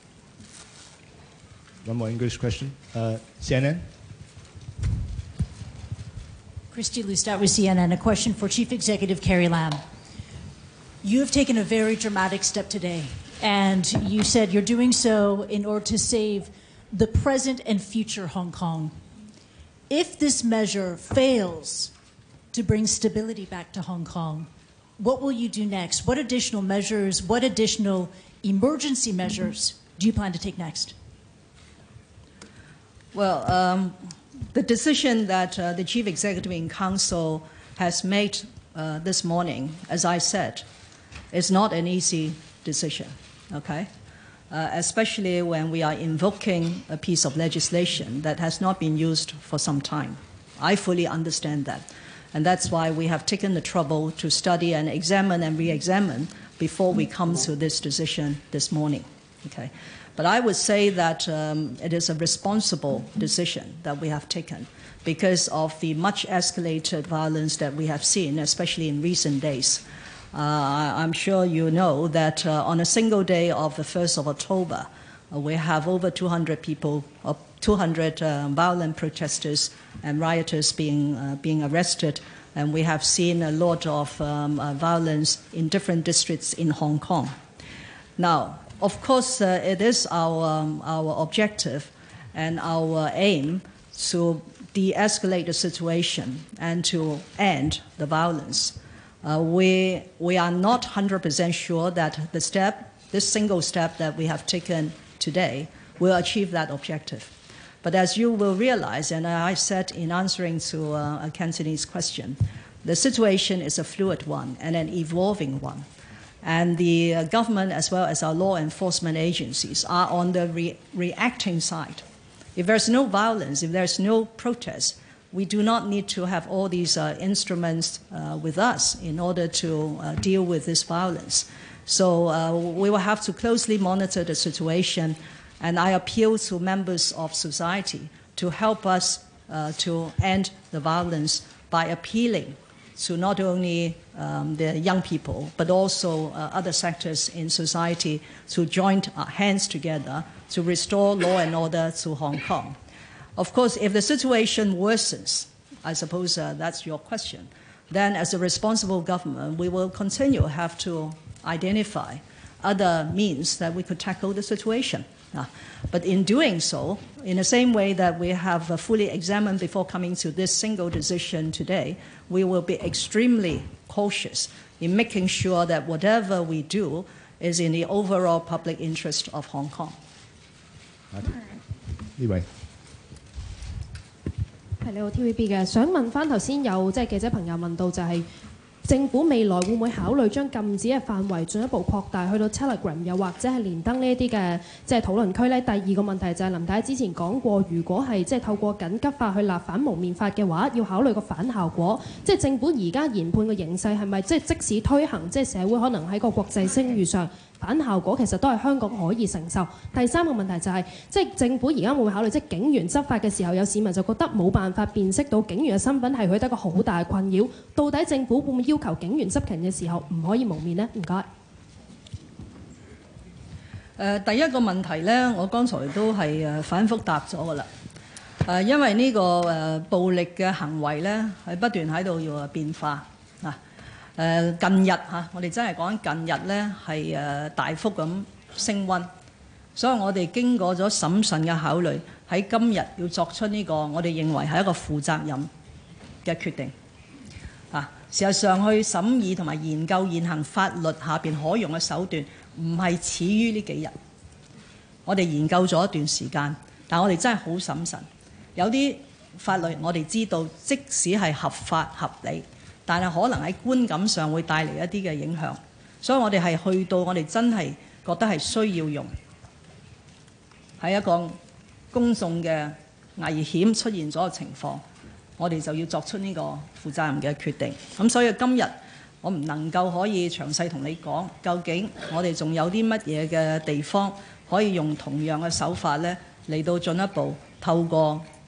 One more English question. CNN? Christy Lustat with CNN. A question for Chief Executive Carrie Lam. You have taken a very dramatic step today, and you said you're doing so in order to save the present and future Hong Kong. If this measure fails to bring stability back to Hong Kong, what will you do next? What additional measures, what additional emergency measures do you plan to take next? Well, the decision that the Chief Executive in Council has made this morning, as I said, is not an easy decision, okay? Especially when we are invoking a piece of legislation that has not been used for some time. I fully understand that. And that's why we have taken the trouble to study and examine and re-examine before we come to this decision this morning, okay? But I would say that it is a responsible decision that we have taken because of the much escalated violence that we have seen, especially in recent days. I'm sure you know that on a single day of the 1st of October, we have over 200 people, 200 violent protesters and rioters being arrested, and we have seen a lot of violence in different districts in Hong Kong. Now, of course, it is our objective and our aim to de-escalate the situation and to end the violence. We are not 100% sure that this single step that we have taken today will achieve that objective. But as you will realize, and I said in answering to a Cantonese question, the situation is a fluid one and an evolving one. And the government, as well as our law enforcement agencies, are on the reacting side. If there's no violence, if there's no protest, we do not need to have all these instruments with us in order to deal with this violence. So we will have to closely monitor the situation, and I appeal to members of society to help us to end the violence by appealing to not only the young people, but also other sectors in society to join hands together to restore law and order to Hong Kong. Of course, if the situation worsens, I suppose that's your question, then as a responsible government, we will continue to have to identify other means that we could tackle the situation. But in doing so, in the same way that we have fully examined before coming to this single decision today, we will be extremely cautious in making sure that whatever we do is in the overall public interest of Hong Kong. 呢位。 係你好 TVB 嘅，想問翻頭先有即係記者朋友問到就係、政府未來會唔會考慮將禁止嘅範圍進一步擴大去到 Telegram 又或者係連登呢一啲嘅即係討論區呢？第二個問題就係林太之前講過，如果係即係透過緊急法去立反蒙面法嘅話，要考慮個反效果。即係政府而家研判嘅形勢係咪即係即使推行，即係社會可能喺個國際聲譽上反效果其實都係香港可以承受。第三個問題就係、即係政府而家會唔會考慮，即係警員執法嘅時候，有市民就覺得冇辦法辨識到警員嘅身份係佢得個好大嘅困擾。到底政府會唔會要求警員執勤嘅時候唔可以蒙面呢？唔該。 第一個問題呢，我剛才都係反覆答咗㗎啦。因為呢個暴力嘅行為呢，係不斷喺度要變化啊。近日我哋真係講近日呢係大幅咁升溫，所以我哋經過咗審慎嘅考慮，喺今日要作出呢個我哋認為係一個負責任嘅決定。事實上去審議同埋研究現行法律下邊可用嘅手段，唔係始於呢幾日。我哋研究咗一段時間，但我哋真係好審慎。有啲法律我哋知道，即使係合法合理，但係可能喺觀感上會帶嚟一啲嘅影響，所以我哋係去到我哋真係覺得係需要用，喺一個公眾嘅危險出現咗嘅情況，我哋就要作出呢個負責任嘅決定。咁所以今日我唔能夠可以詳細同你講，究竟我哋仲有啲乜嘢嘅地方可以用同樣嘅手法呢嚟到進一步透過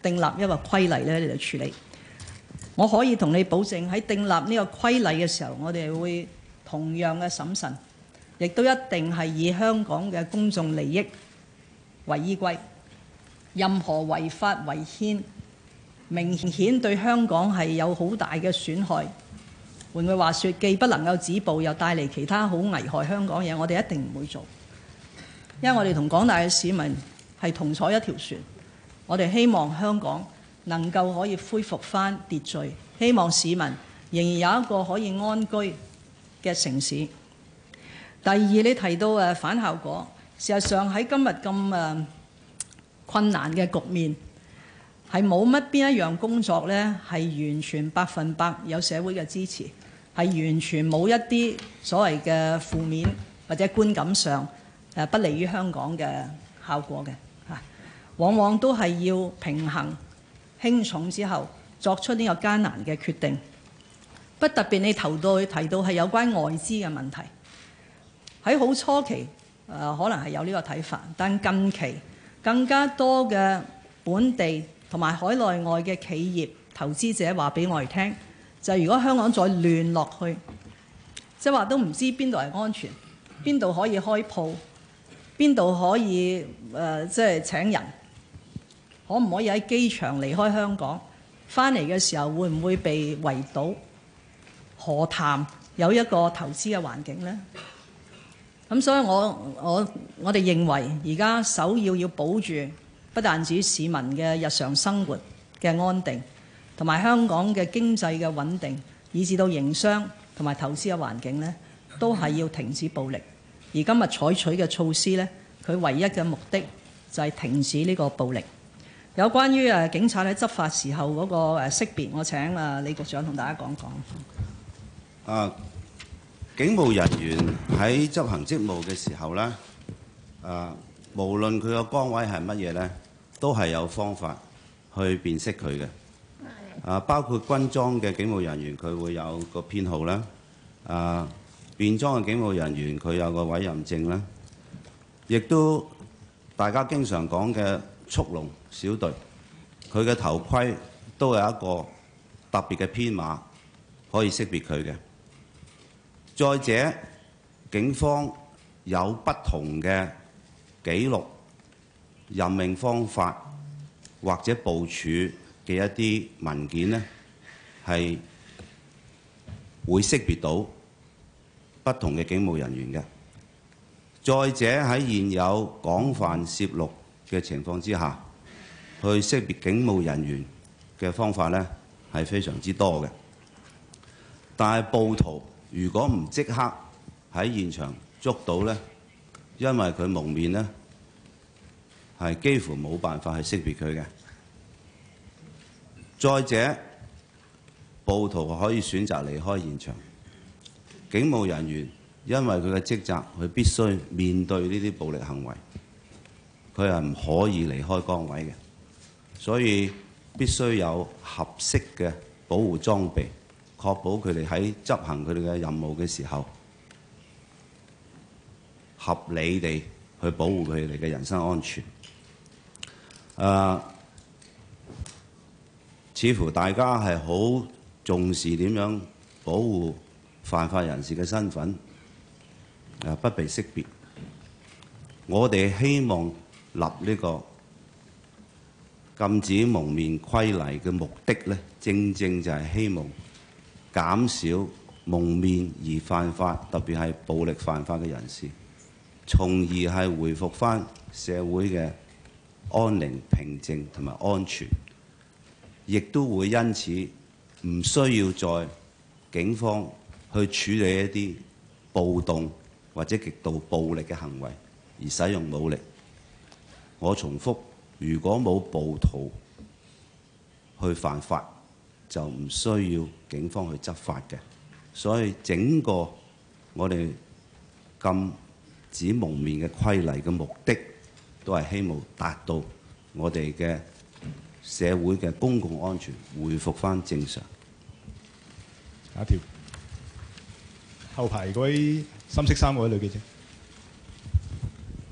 訂立一個規例咧嚟處理。我可以同你保證喺訂立呢個規例嘅時候，我哋會同樣嘅審慎，亦都一定係以香港嘅公眾利益為依歸。任何違法違憲，明顯對香港係有好大嘅損害。換句話說，既不能夠止暴，又帶嚟其他好危害香港嘢，我哋一定唔會做。因為我哋同廣大嘅市民係同坐一條船，我哋希望香港能夠可以恢復返秩序，希望市民仍然有一個可以安居嘅城市。第二，你提到反效果，事實上喺今日咁困難嘅局面，係冇乜邊一樣工作呢係完全100%有社會嘅支持，係完全冇一啲所謂嘅負面或者觀感上不利於香港嘅效果嘅嚇，往往都係要平衡輕重之後作出呢個艱難嘅決定。不特別你提到係有關外資嘅問題，喺好初期可能係有呢個睇法，但近期更加多嘅本地同埋海內外嘅企業投資者話俾我哋聽，就係如果香港再亂落去，即係話都唔知邊度係安全，邊度可以開鋪，邊度可以即係請人，可唔可以喺機場離開香港，翻嚟嘅時候會唔會被圍堵？何談有一個投資嘅環境呢？咁所以我哋認為而家首要保住不但止市民嘅日常生活嘅安定，同埋香港嘅經濟嘅穩定，以至到營商同埋投資嘅環境呢，都係要停止暴力。而今日採取嘅措施呢，佢唯一嘅目的就係停止呢個暴力。有關於警察喺執法時候嗰個識別，我請李局長同大家講講。 警務人員喺執行職務嘅時候呢，無論佢個崗位係乜嘢呢，都係有方法去辨識佢嘅。包括軍裝嘅警務人員，佢會有個編號啦。便裝嘅警務人員，佢有個委任證啦。亦都大家經常講嘅速龍小隊，佢嘅頭盔都有一個特別嘅編碼可以識別佢嘅。再者，警方有不同嘅記錄、任命方法或者部署嘅一啲文件呢，係會識別到不同嘅警務人員嘅。再者，喺現有廣泛攝錄嘅情況之下，去識別警務人員嘅方法呢，係非常之多嘅。但係暴徒如果唔即刻喺現場捉到呢，因為佢蒙面呢，係幾乎冇辦法去識別佢嘅。再者，暴徒可以選擇離開現場，警務人員因為佢嘅職責，佢必須面對呢啲暴力行為，佢係唔可以離開崗位嘅，所以必須有合適嘅保護裝備，確保佢哋喺執行佢哋嘅任務嘅時候，合理地去保護佢哋嘅人身安全。似乎大家係好重視點樣保護犯法人士嘅身份，不被識別。我哋希望立呢個禁止蒙面規例嘅目的呢，正正就係希望減少蒙面而犯法，特別係暴力犯法嘅人士，從而係回復返社會嘅安寧、平靜同埋安全，亦都會因此唔需要再警方去處理一啲暴動或者極度暴力嘅行為而使用武力。我重複，如果冇暴徒去犯法，就唔需要警方去執法嘅。所以整個我哋禁止蒙面嘅規例嘅目的，都係希望達到我哋嘅社會嘅公共安全回復返正常。 下一條，後排嗰位深色衫嗰位女記者。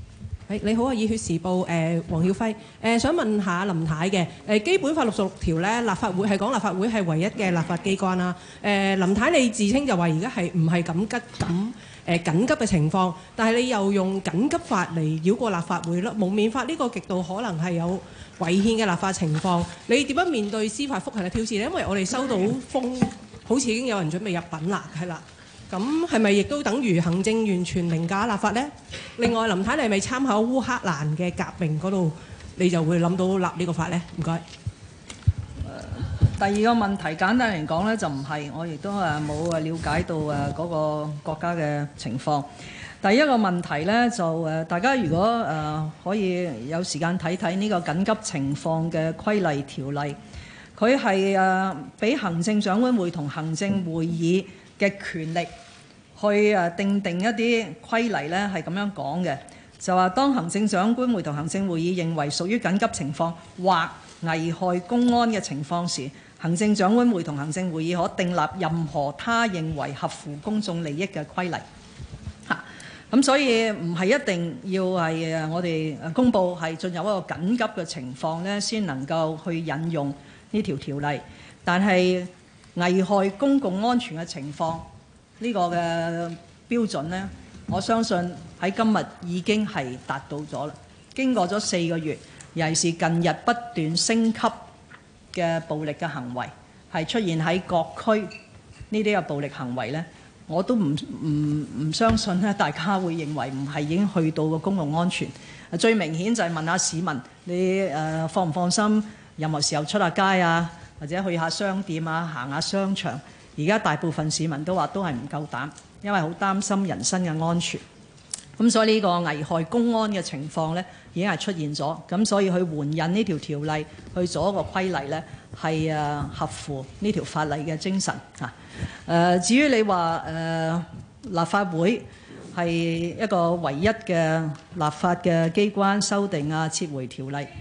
你好啊，熱血時報黃曉輝，想問下林太嘅基本法66條咧，立法會係講立法會係唯一嘅立法機關啦。林太你自稱就話而家係唔係緊急嘅情況，但係你又用緊急法嚟繞過立法會咯，蒙面法呢個極度可能係有違憲嘅立法情況，你點樣面對司法覆核嘅挑戰呢？因為我哋收到風，好似已經有人準備入稟啦，係啦。咁係咪亦都等於行政完全凌駕立法呢？另外，林太你係咪參考烏克蘭嘅革命嗰度，你就會諗到立呢個法呢？唔該。 第二個問題簡單嚟講呢，就唔係，我亦都冇了解到嗰個國家嘅情況。第一個問題呢，就大家如果可以有時間睇睇呢個緊急情況嘅規例條例，佢係俾行政長官會同行政會議嘅權力去定一啲規例呢，係咁樣講嘅，就話當行政長官會同行政會議認為屬於緊急情況或危害公安嘅情況時，行政長官會同行政會議可訂立任何他認為合乎公眾利益嘅規例。咁所以唔係一定要係我哋公佈係進入一個緊急嘅情況呢，先能夠去引用呢條條例。但係危害公共安全嘅情況呢個嘅標準呢，我相信喺今日已經係達到咗啦。經過咗4個月，尤其是近日不斷升級嘅暴力嘅行為，係出現喺各區呢啲嘅暴力行為呢，我都唔相信咧，大家會認為唔係已經去到個公共安全。最明顯就係問下市民，你放唔放心任何時候出下街啊，或者去下商店啊，行下商場。而家大部分市民都話都係唔夠膽，因為好擔心人身嘅安全。咁所以呢個危害公安嘅情況呢，已經係出現咗。咁所以去援引呢條條例去做一個規例呢，係合乎呢條法例嘅精神嚇。至於你話立法會係一個唯一嘅立法嘅機關，修訂啊、撤回條例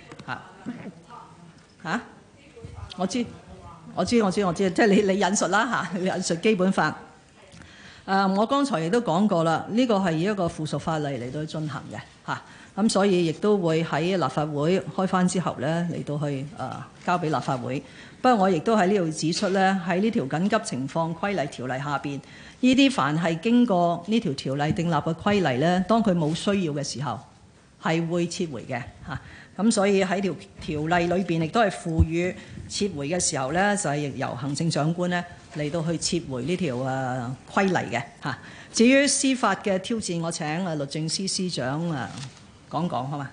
嚇我知，即係你引述啦嚇，引述基本法。我剛才亦都講過啦，呢個係以一個附屬法例嚟到進行嘅嚇，咁所以亦都會喺立法會開返之後呢嚟到去交俾立法會。不過我亦都喺呢度指出呢，喺呢條緊急情況規例條例下邊，呢啲凡係經過呢條條例訂立嘅規例呢，當佢冇需要嘅時候係會撤回嘅嚇。咁所以喺條例裏邊亦都係賦予撤回嘅時候呢，就係由行政長官呢嚟到去撤回呢條規例嘅嚇。至於司法嘅挑戰，我請律政司司長講講好嘛？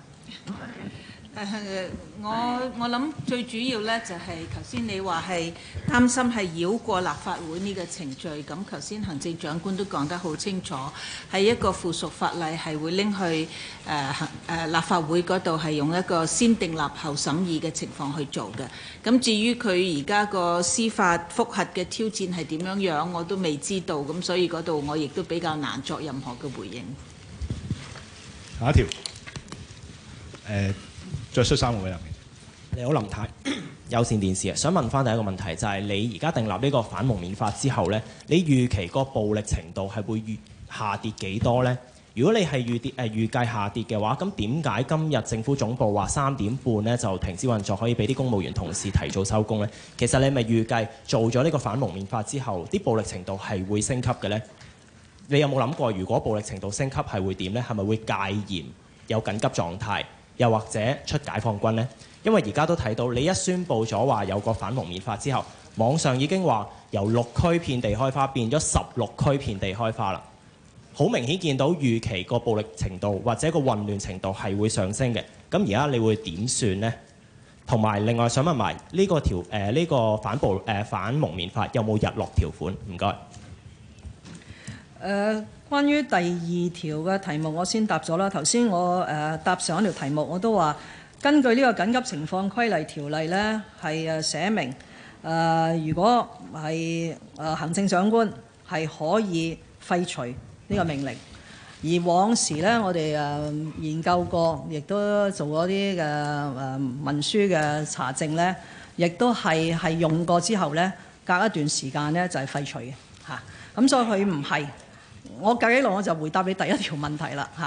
我諗最主要咧就係頭先你話係擔心係繞過立法會呢個程序，咁頭先行政長官都講得好清楚，係一個附屬法例係會拎去立法會嗰度係用一個先訂立後審議嘅情況去做嘅。咁至於佢而家個司法覆核嘅挑戰係點樣樣，我都未知道，咁所以嗰度我亦都比較難作任何嘅回應。 下一條着恤衫嗰位入面， 你好林太，有線電視啊，想問翻第一個問題就係、是、你而家訂立呢個反蒙面法之後呢，你預期個暴力程度係會下跌幾多呢？如果你係預計下跌嘅話，咁點解今日政府總部話3點半呢就停止運作，可以俾啲公務員同事提早收工呢？其實你咪預計做咗呢個反蒙面法之後，啲暴力程度係會升級嘅呢？你有冇諗過，如果暴力程度升級係會點呢？係咪會戒嚴、有緊急狀態？又或者出解放軍呢？因為而家都睇到你一宣佈咗話有個反蒙面法之後，網上已經話由6區遍地開花變咗16區遍地開花啦。好明顯見到預期個暴力程度或者個混亂程度係會上升嘅。咁而家你會點算呢？同埋另外想問埋呢個呢個反蒙面法有冇日落條款？唔該。 關於第2條嘅題目，我先答咗啦。頭先我答上一條題目，我都話根據呢個緊急情況規例條例呢，係寫明如果係行政長官係可以廢除呢個命令。而往時呢，我哋研究過，亦都做咗啲嘅文書嘅查證呢，亦都係用過之後呢，隔一段時間呢就係廢除嘅嚇。咁所以佢唔係。我計起來我就回答你第1條問題啦嚇。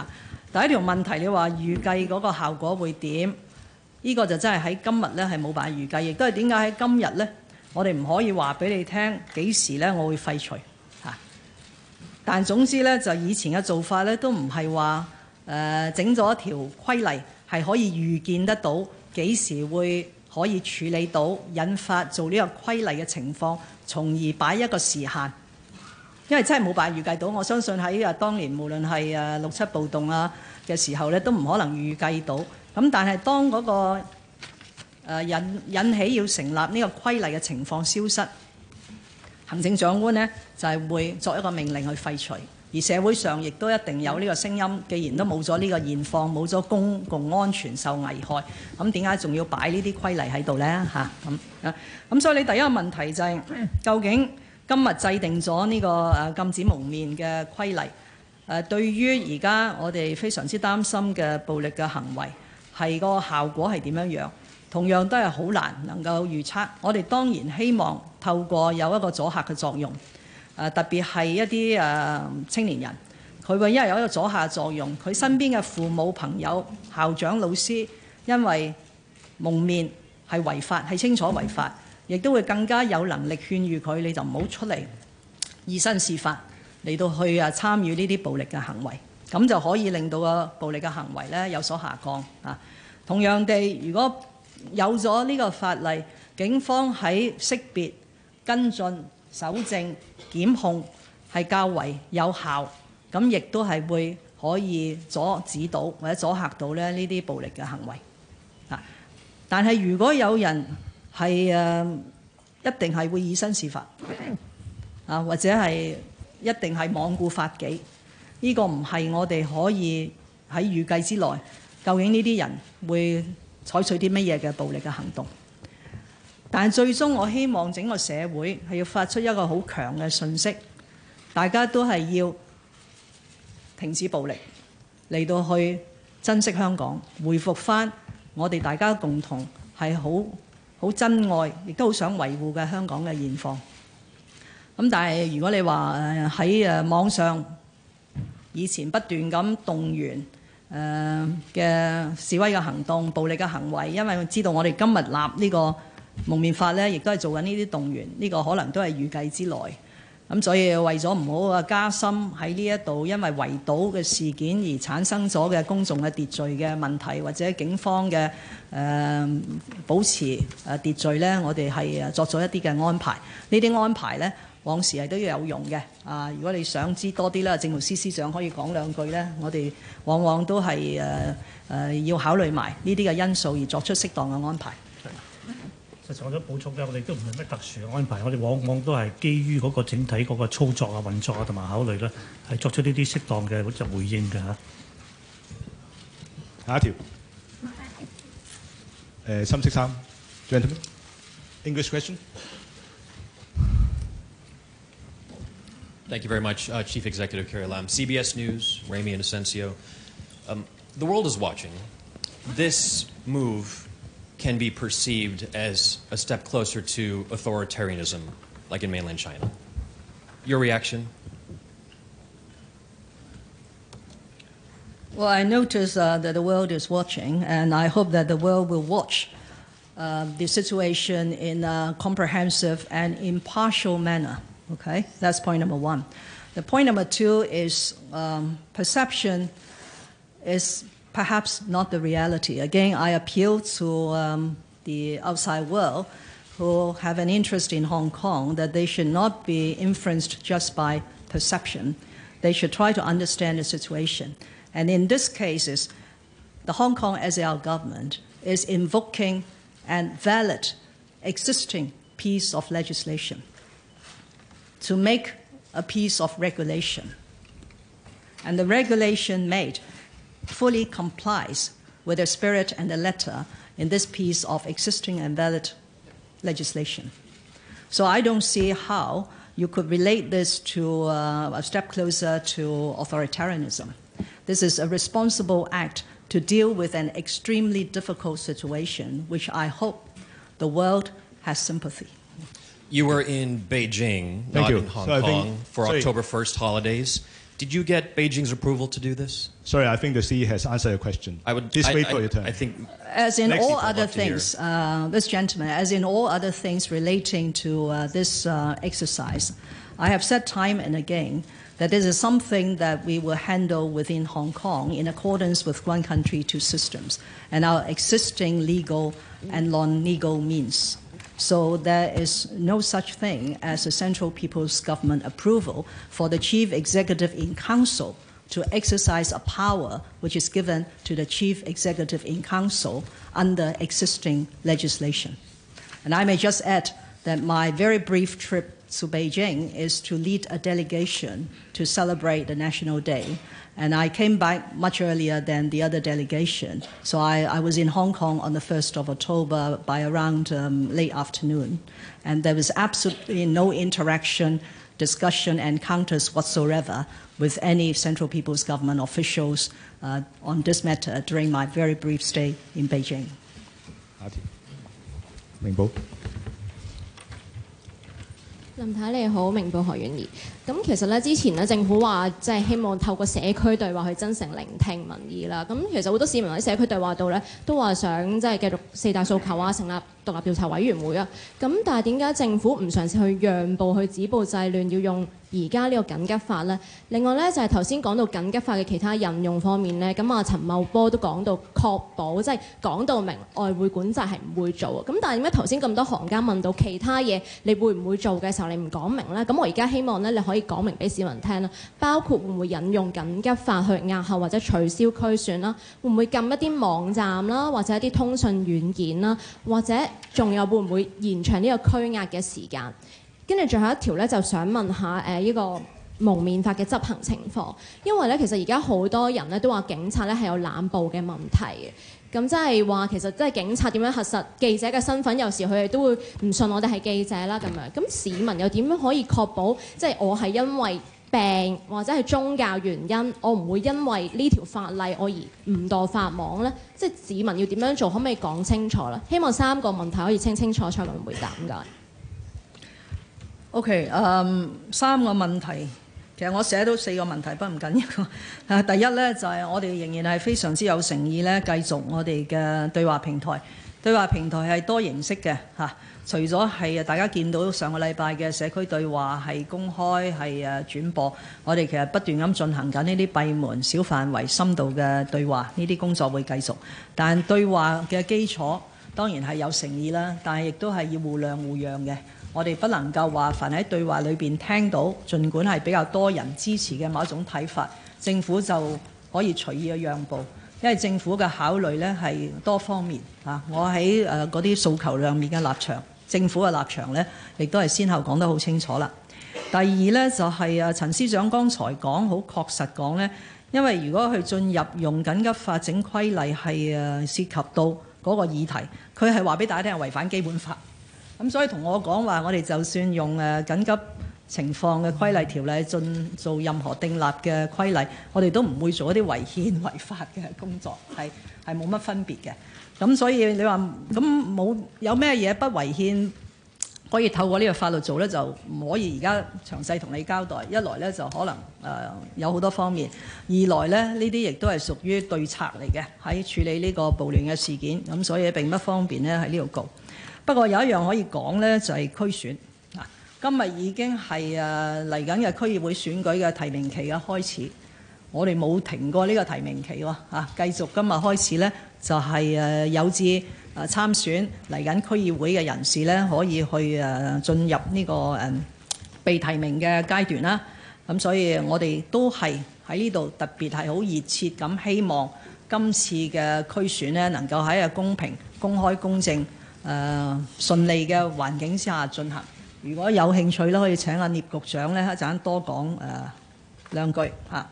第一條問題，你話預計嗰個效果會點？呢個就真係喺今日呢係冇辦法預計，亦都係點解喺今日呢，我哋唔可以話俾你聽幾時呢我會廢除嚇。但總之呢，就以前嘅做法呢，都唔係話整咗一條規例係可以預見得到幾時會可以處理到引發做呢個規例嘅情況，從而擺一個時限。因為真係冇辦法預計到，我相信喺當年無論係6、7暴動啊嘅時候咧，都唔可能預計到。咁但係當嗰個引起要成立呢個規例嘅情況消失，行政長官呢就係會作一個命令去廢除，而社會上亦都一定有呢個聲音。既然都冇咗呢個現況，冇咗公共安全受危害，咁點解仲要擺呢啲規例喺度呢？咁所以你第一個問題就係究竟今日制定咗呢個禁止蒙面嘅規例，對於而家我哋非常之擔心嘅暴力嘅行為，係個效果係點樣樣？同樣都係好難能夠預測。我哋當然希望透過有一個阻嚇嘅作用，特別係一啲青年人，佢會因為有一個阻嚇作用，佢身邊嘅父母、朋友、校長、老師，因為蒙面係違法，係清楚違法，亦都會更加有能力勸喻佢，你就唔好出嚟以身試法嚟到去參與呢啲暴力嘅行為，咁就可以令到個暴力嘅行為呢有所下降啊。同樣地，如果有咗呢個法例，警方喺識別、跟進、搜證、檢控係較為有效，咁亦都係會可以阻止到或者阻嚇到呢啲暴力嘅行為啊。但係如果有人係一定係會以身試法啊，或者係一定係罔顧法紀，呢個唔係我哋可以喺預計之內。究竟呢啲人會採取啲乜嘢嘅暴力嘅行動？但係最終我希望整個社會係要發出一個好強嘅訊息，大家都係要停止暴力，嚟到去珍惜香港，恢復返我哋大家共同係好珍愛，亦都好想維護嘅香港嘅現況。咁但係如果你話喺網上以前不斷咁動員嘅示威嘅行動、暴力嘅行為，因為知道我哋今日立呢個蒙面法呢，亦都係做緊呢啲動員，呢個可能都係預計之內。咁所以為咗唔好加深喺呢一度因為圍堵嘅事件而產生咗嘅公眾嘅秩序嘅問題，或者警方嘅保持秩序呢，我哋係作咗一啲嘅安排。呢啲安排呢，往時係都要有用嘅。如果你想知多啲啦，政務司司長可以講兩句呢，我哋往往都係要考慮埋呢啲嘅因素而作出適當嘅安排。 實際我想補充嘅，我哋都唔係咩特殊嘅安排，我哋往往都係基於嗰個整體嗰個操作啊、運作啊同埋考慮咧，係作出呢啲適當嘅就回應嘅嚇。 下一條，深色衫 ，gentleman English question. Thank you very much, Chief Executive Carrie Lam. CBS News, Ramy Inocencio. The world is watching. This move can be perceived as a step closer to authoritarianism, like in mainland China. Your reaction? Well, I notice that the world is watching, and I hope that the world will watch the situation in a comprehensive and impartial manner. Okay, that's point number one. The point number two is perception is perhaps not the reality. Again, I appeal to the outside world who have an interest in Hong Kong that they should not be influenced just by perception. They should try to understand the situation. And in this case, the Hong Kong SAR government is invoking a valid existing piece of legislation to make a piece of regulation. And the regulation made fully complies with the spirit and the letter in this piece of existing and valid legislation. So I don't see how you could relate this to a step closer to authoritarianism. This is a responsible act to deal with an extremely difficult situation, which I hope the world has sympathy. You were in Beijing, not in Hong Kong, for October 1st holidays. Did you get Beijing's approval to do this? Sorry, I think the CE has answered your question. Please wait for your turn. I think, as in Next all people other love to hear. things, this gentleman, as in all other things relating to this exercise, I have said time and again that this is something that we will handle within Hong Kong in accordance with one country, two systems, and our existing legal and non-legal means. So there is no such thing as a Central People's Government approval for the Chief Executive in Council to exercise a power which is given to the Chief Executive in Council under existing legislation. And I may just add that my very brief trip to Beijing is to lead a delegation to celebrate the National Day. And I came back much earlier than the other delegation. So I was in Hong Kong on the 1st of October by around late afternoon. And there was absolutely no interaction, discussion, encounters whatsoever with any Central People's Government officials on this matter during my very brief stay in Beijing. 明報。 林太你好，明報何婉儀。咁其實咧，之前咧政府話即係希望透過社區對話去真誠聆聽民意啦。咁其實好多市民喺社區對話度咧，都話想即係繼續四大訴求啊，成立獨立調查委員會啊。咁但係點解政府唔嘗試去讓步去止暴制亂，要用而家呢個緊急法呢？另外咧就係頭先講到緊急法嘅其他引用方面呢，咁啊陳茂波都講到確保即係講到明外匯管制係唔會做。咁但係點解頭先咁多行家問到其他嘢你會唔會做嘅時候，你唔講明呢？咁我而家希望咧你可以講明俾市民聽啦，包括會唔會引用緊急法去押後或者取消區選啦，會唔會禁一啲網站啦，或者一啲通訊軟件啦，或者仲有會唔會延長呢個拘押嘅時間？跟住最後一條咧，就想問下呢個蒙面法嘅執行情況，因為咧其實而家好多人咧都話警察咧係有濫捕嘅問題嘅。咁即係話其實即係警察點樣核實記者嘅身份，有時佢哋都會唔信我哋係記者啦咁樣。咁市民又點樣可以確保即係我係因為病或者係宗教原因，我唔會因為呢條法例我而誤墮法網呢？即係市民要點樣做，可唔可以講清楚咧？希望3個問題可以清清楚楚咁回答。唔該。 OK， 3個問題，其實我寫到4個問題，不過唔緊要。第一呢，就係我哋仍然係非常之有誠意呢，繼續我哋嘅對話平台。對話平台係多形式嘅嚇，除咗係大家見到上個禮拜嘅社區對話係公開係轉播，我哋其實不斷咁進行緊呢啲閉門小範圍深度嘅對話，呢啲工作會繼續。但對話嘅基礎當然係有誠意啦，但係亦都係要互諒互讓嘅。我哋不能夠話凡喺對話裏邊聽到，儘管係比較多人支持嘅某一種睇法，政府就可以隨意嘅讓步，因為政府嘅考慮呢係多方面嚇。我喺嗰啲訴求上面嘅立場，政府嘅立場呢，亦都係先後講得好清楚啦。第二呢，就係陳司長剛才講好確實講呢，因為如果去進入用緊急法整規例係涉及到嗰個議題，佢係話俾大家聽係違反基本法。咁所以同我講話，我哋就算用緊急情況嘅規例條例做任何訂立嘅規例，我哋都唔會做一啲違憲違法嘅工作，係冇乜分別嘅。咁所以你話咁有咩嘢不違憲可以透過呢個法律做呢？就唔可以而家詳細同你交代。一來呢，就可能有好多方面，二來呢，呢啲亦都係屬於對策嚟嘅，喺處理呢個暴亂嘅事件，咁所以並不方便呢喺呢度告。不過有一樣可以講呢，就係區選。今日已經係嚟緊嘅區議會選舉嘅提名期嘅開始，我哋冇停過呢個提名期喎嚇，繼續今日開始呢，就係有志參選嚟緊區議會嘅人士呢，可以去進入呢個被提名嘅階段啦。咁所以我哋都係喺呢度特別係好熱切咁希望今次嘅區選呢，能夠喺個公平、公開、公正、順利嘅環境之下進行。如果有興趣咧，可以請阿聶局長咧一陣多講兩句嚇。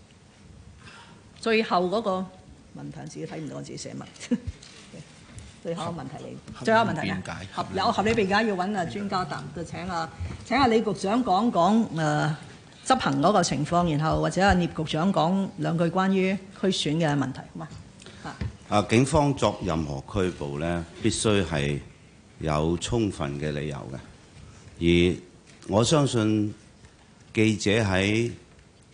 最後嗰個問題自己睇唔到，我自己寫乜？最後一個問題你，最後一個問題咧，有合理辯解要揾專家答，就請阿李局長講講執行嗰個情況，然後或者阿聶局長講兩句關於區選嘅問題，好嘛？ 警方作任何拘捕咧，必須係有充分嘅理由嘅。而我相信記者喺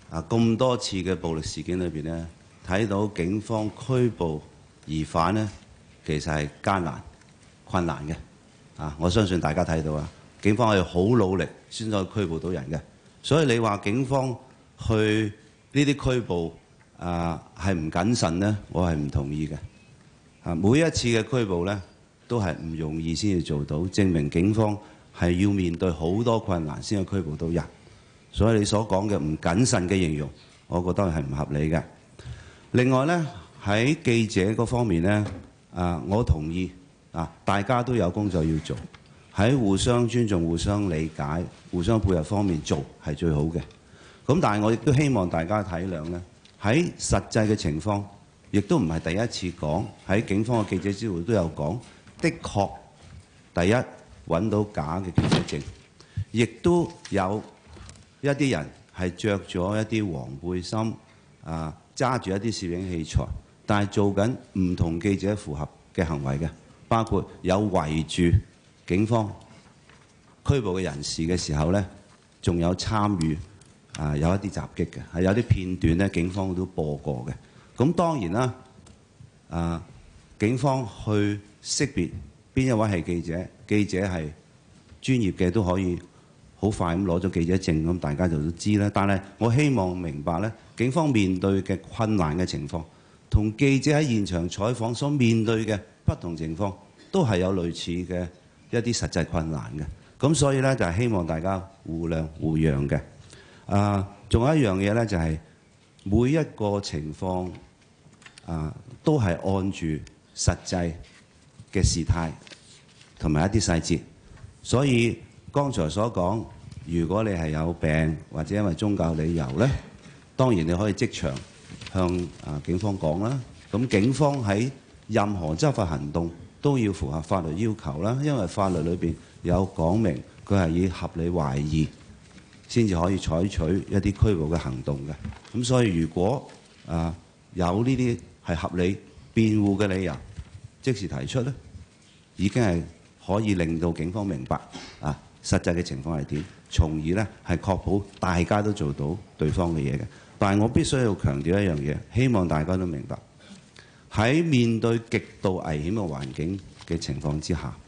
咁多次嘅暴力事件裏邊呢，睇到警方拘捕疑犯呢，其實係艱難困難嘅。我相信大家睇到啊，警方係好努力先可以拘捕到人嘅。所以你話警方去呢啲拘捕係唔謹慎呢，我係唔同意嘅。每一次嘅拘捕呢，都係唔容易先至做到，證明警方係要面對好多困難先去拘捕到人。所以你所講嘅唔謹慎嘅形容，我覺得係唔合理嘅。另外呢，喺記者嗰方面呢，我同意大家都有工作要做，喺互相尊重、互相理解、互相配合方面做係最好嘅。咁但係我亦都希望大家體諒呢，喺實際嘅情況，亦都唔係第一次講，喺警方嘅記者招待會都有講，的確第一揾到假嘅記者證，亦都有一啲人係着咗一啲黃背心，揸住一啲攝影器材，但係做緊唔同記者符合嘅行為嘅，包括有圍住警方拘捕嘅人士嘅時候呢，仲有參與有一啲襲擊嘅，係有啲片段呢，警方都播過嘅。咁當然啦，警方去識別邊一位係記者，記者係專業嘅都可以好快咁攞咗記者證，咁大家就都知啦。但係我希望明白呢，警方面對嘅困難嘅情況，同記者喺現場採訪所面對嘅不同情況，都係有類似嘅一啲實際困難嘅。咁所以呢，就係希望大家互諒互讓嘅。仲有一樣嘢呢，就係每一個情況都係按住實際嘅事態同埋一啲細節，所以剛才所講，如果你係有病或者因為宗教理由呢，當然你可以即場向警方講啦。咁警方喺任何執法行動都要符合法律要求啦，因為法律裏邊有講明佢係以合理懷疑先至可以採取一啲拘捕嘅行動嘅。咁所以如果有呢啲係合理辯護嘅理由，即時提出呢，已經係可以令到警方明白實際嘅情況係點，從而呢係確保大家都做到對方嘅嘢嘅。但係我必須要強調一樣嘢，希望大家都明白，喺面對極度危險嘅環境嘅情況之下，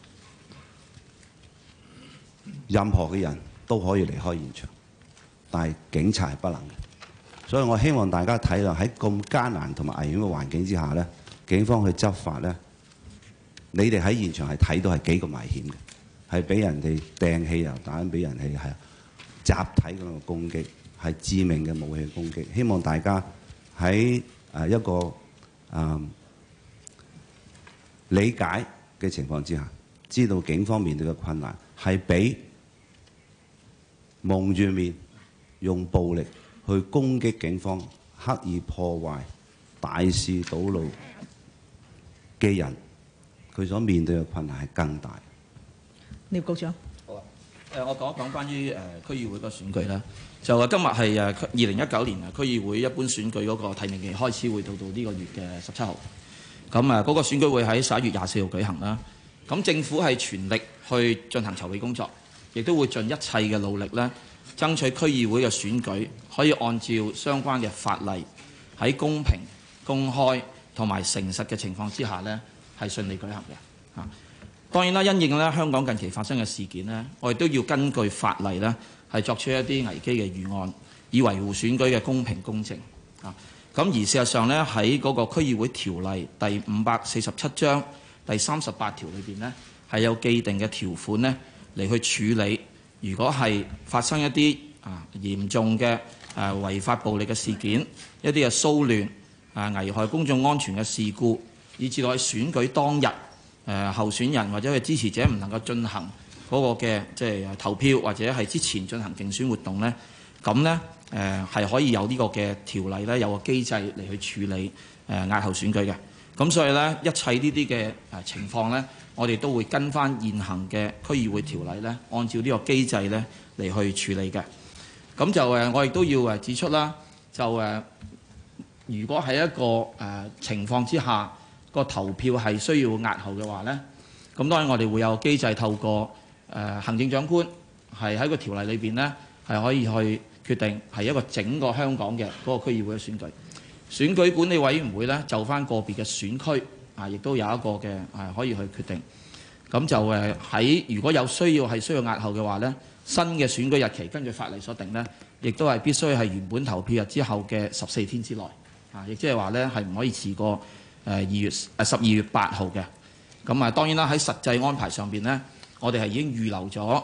任何嘅人都可以離開現場，但係警察係不能嘅。所以我希望大家體諒喺咁艱難同埋危險嘅環境之下呢，警方去執法呢，你哋喺現場係睇到係幾咁危險嘅。係俾人哋掟汽油彈，俾人哋係集體咁嘅攻擊，係致命嘅武器攻擊。希望大家喺一個理解嘅情況之下，知道警方面對嘅困難係比蒙住面用暴力去攻擊警方、刻意破壞、大肆堵路嘅人，佢所面對嘅困難係更大。 聶局長， 好啊。我講一講關於區議會個選舉啦。就今日係2019年區議會一般選舉嗰個提名期開始，會到呢個月嘅17號。咁嗰個選舉會喺11月24號舉行啦。咁政府係全力去進行籌備工作，亦都會盡一切嘅努力咧，爭取區議會嘅選舉可以按照相關嘅法例喺公平、公開同埋誠實嘅情況之下咧，係順利舉行嘅。當然啦，因應咧香港近期發生嘅事件呢，我哋都要根據法例呢係作出一啲危機嘅預案，以維護選舉嘅公平公正。咁而事實上呢，喺嗰個區議會條例第547章第38條裏邊呢，係有既定嘅條款呢嚟去處理，如果係發生一啲嚴重嘅違法暴力嘅事件，一啲嘅騷亂危害公眾安全嘅事故，以至到喺選舉當日候選人或者佢支持者唔能夠進行嗰個嘅即係投票，或者係之前進行競選活動呢，咁呢係可以有呢個嘅條例呢，有個機制嚟去處理押後選舉嘅。咁所以呢，一切呢啲嘅情況呢，我哋都會跟翻現行嘅區議會條例呢，按照呢個機制呢嚟去處理嘅。咁就我亦都要指出啦，就如果喺一個情況之下，個投票係需要押後嘅話呢，咁當然我哋會有機制透過行政長官係喺個條例裏邊呢，係可以去決定係一個整個香港嘅嗰個區議會嘅選舉。選舉管理委員會呢，就翻個別嘅選區亦都有一個嘅可以去決定。咁就喺如果有需要押後嘅話呢，新嘅選舉日期根據法例所定呢，亦都係必須係原本投票日之後嘅14天之內，亦即係話呢係唔可以遲過12月8號嘅。咁當然啦，喺實際安排上邊呢，我哋係已經預留咗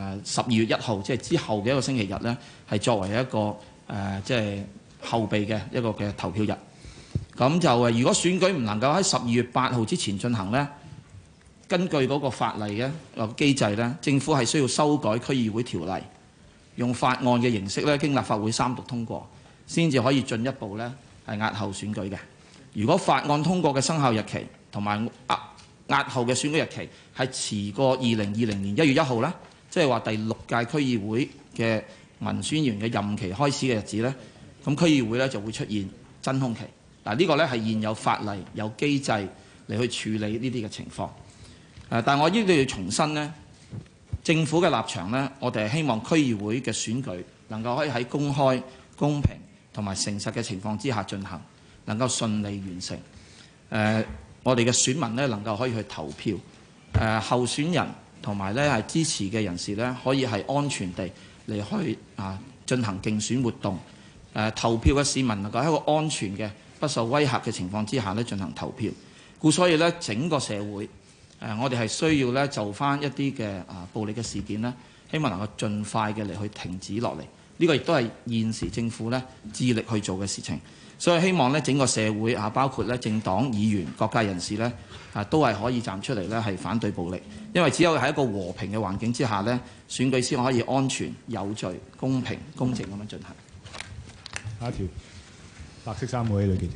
12月1號，即係之後嘅一個星期日呢，係作為一個即係後備嘅一個嘅投票日。咁就如果選舉唔能夠喺12月8號之前進行呢，根據嗰個法例嘅機制呢，政府係需要修改區議會條例，用法案嘅形式呢，經立法會3讀通過，先至可以進一步呢係押後選舉嘅。如果法案通過嘅生效日期同埋押後嘅選舉日期係遲過2020年1月1號呢，即係話第6屆區議會嘅民選議員嘅任期開始嘅日子呢，咁區議會呢就會出現真空期。嗱，呢個呢係現有法例有機制嚟去處理呢啲嘅情況。但我亦都要重申呢，政府嘅立場呢，我哋係希望區議會嘅選舉能夠可以喺公開、公平同埋誠實嘅情況之下進行，能夠順利完成。我哋嘅選民呢能夠可以去投票，候選人同埋呢係支持嘅人士呢，可以係安全地嚟去進行競選活動。投票嘅市民能夠喺一個安全嘅、不受威嚇嘅情況之下呢進行投票。故所以呢，整個社會我哋係需要呢就翻一啲嘅暴力嘅事件呢，希望能夠盡快嘅嚟去停止落嚟。呢個亦都係現時政府呢致力去做嘅事情。所以希望呢整個社會包括呢政黨、議員、各界人士呢都係可以站出嚟呢係反對暴力。因為只有喺一個和平嘅環境之下呢，選舉先可以安全、有序、公平、公正咁樣進行。 下一條，白色衫嗰位女記者。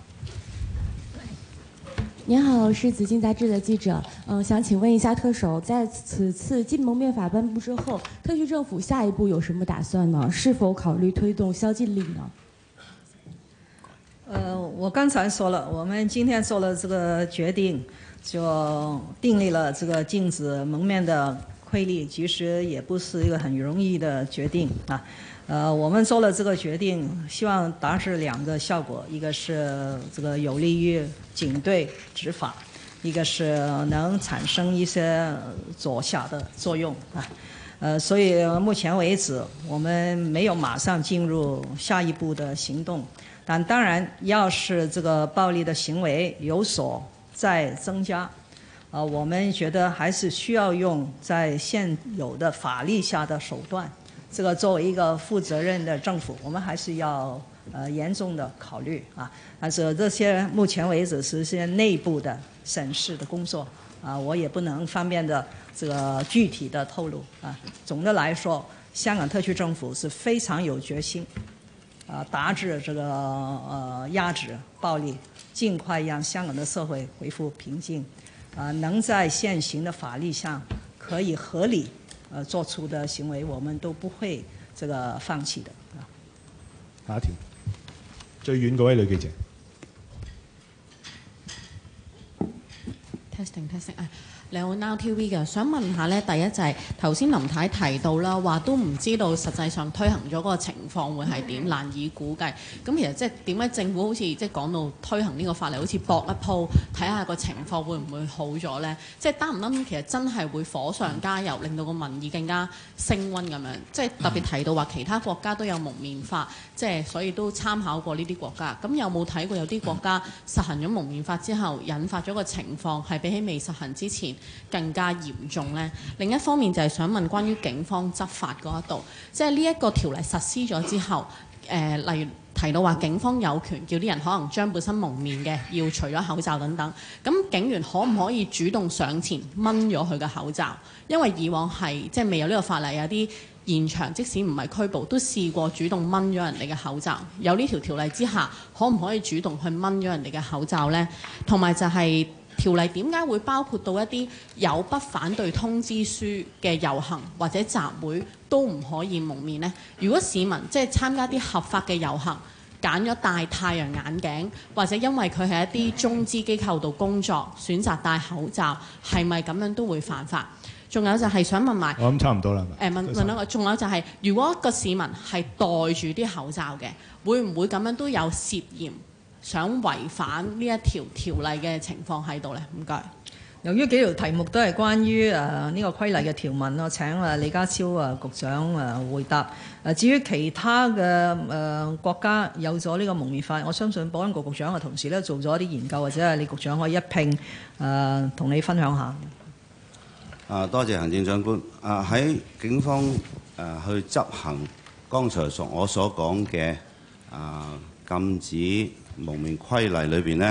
您好，我是紫金杂志的记者。想请问一下特首，在此次禁蒙面法颁布之后，特区政府下一步有什么打算呢？是否考虑推动宵禁令呢？ 我刚才说了，我们今天做了这个决定，就订立了这个禁止蒙面的规例，其实也不是一个很容易的决定啊。我们做了这个决定，希望达至2个效果，一个是这个有利于警队执法，一个是能产生一些阻吓的作用啊。所以目前为止，我们没有马上进入下一步的行动。但当然，要是这个暴力的行为有所再增加，我们觉得还是需要用在现有的法律下的手段。这个作为一个负责任的政府，我们还是要严重的考虑啊。但是这些目前为止是些内部的审视的工作啊，我也不能方便的这个具体的透露啊。总的来说，香港特区政府是非常有决心。达至这个压制暴力，尽快让香港的社会恢复平静，能在现行的法律上可以合理做出的行为，我们都不会这个放弃的。 下一條，最遠嗰位女記者。 Testing，你好 Now TV 嘅，想問下呢，第一就係頭先林太提到啦，話都唔知道實際上推行咗嗰個情況會係點，難以估計。咁其實即係點解政府好似即係講到推行呢個法例，好似搏一鋪，睇下個情況會唔會好咗呢？即係擔唔擔其實真係會火上加油，令到個民意更加升溫咁樣？即係特別提到話其他國家都有蒙面法，即係所以都參考過呢啲國家。咁有冇睇過有啲國家實行咗蒙面法之後，引發咗個情況係比起未實行之前更加嚴重呢？另一方面就係想問關於警方執法嗰一度，即係呢一個條例實施咗之後，例如提到話警方有權叫啲人可能將本身蒙面嘅要除咗口罩等等，咁警員可唔可以主動上前掹咗佢嘅口罩？因為以往係即係未有呢個法例，有啲現場即使唔係拘捕，都試過主動掹咗人哋嘅口罩。有呢條條例之下，可唔可以主動去掹咗人哋嘅口罩呢？同埋就係條例點解會包括到一啲有不反對通知書嘅遊行或者集會都唔可以蒙面呢？如果市民即係參加啲合法嘅遊行，揀咗戴太陽眼鏡，或者因為佢係一啲中資機構度工作，選擇戴口罩，係咪咁樣都會犯法？ 仲有就係想問埋， 我諗差唔多啦。 問兩個，仲有就係、如果個市民係戴住啲口罩嘅，會唔會咁樣都有涉嫌想違反呢一條條例嘅情況喺度呢？唔該。 由於幾條題目都係關於呢個規例嘅條文，我請李家超局長回答。至於其他嘅國家有咗呢個蒙面法，我相信保安局局長嘅同事咧做咗一啲研究，或者係李局長可以一併同你分享下。 多謝行政長官。喺警方去執行剛才我所講嘅禁止蒙面規例裏邊呢，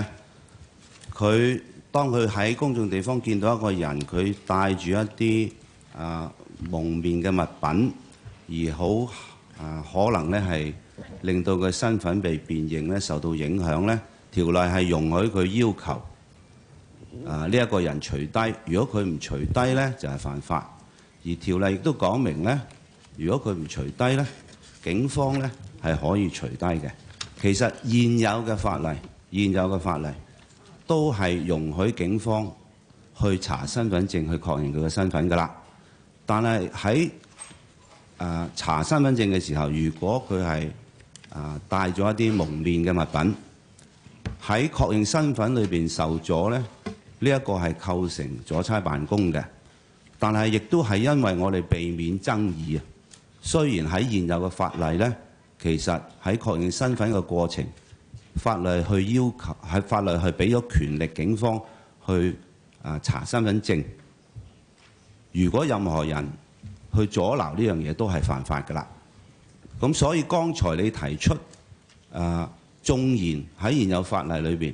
當佢喺公眾地方見到一個人，佢帶住一啲蒙面嘅物品，而好可能咧係令到佢身份被辨認咧受到影響咧，條例係容許佢要求呢一個人除低。如果佢唔除低咧，就係犯法。而條例亦都講明咧，如果佢唔除低咧，警方咧係可以除低嘅。其實現有嘅法例都係容許警方去查身份證，去確認佢嘅身份㗎啦。但係喺查身份證嘅時候，如果佢係帶咗一啲蒙面嘅物品，喺確認身份裏邊受阻咧，呢一個係構成阻差辦公嘅。但係亦都係因為我哋避免爭議啊。雖然喺現有嘅法例咧，其實喺確認身份嘅過程，法例去要求喺法例係俾咗權力警方去查身份證。如果任何人去阻撓呢樣嘢，都係犯法㗎啦。咁所以剛才你提出縱然喺現有法例裏邊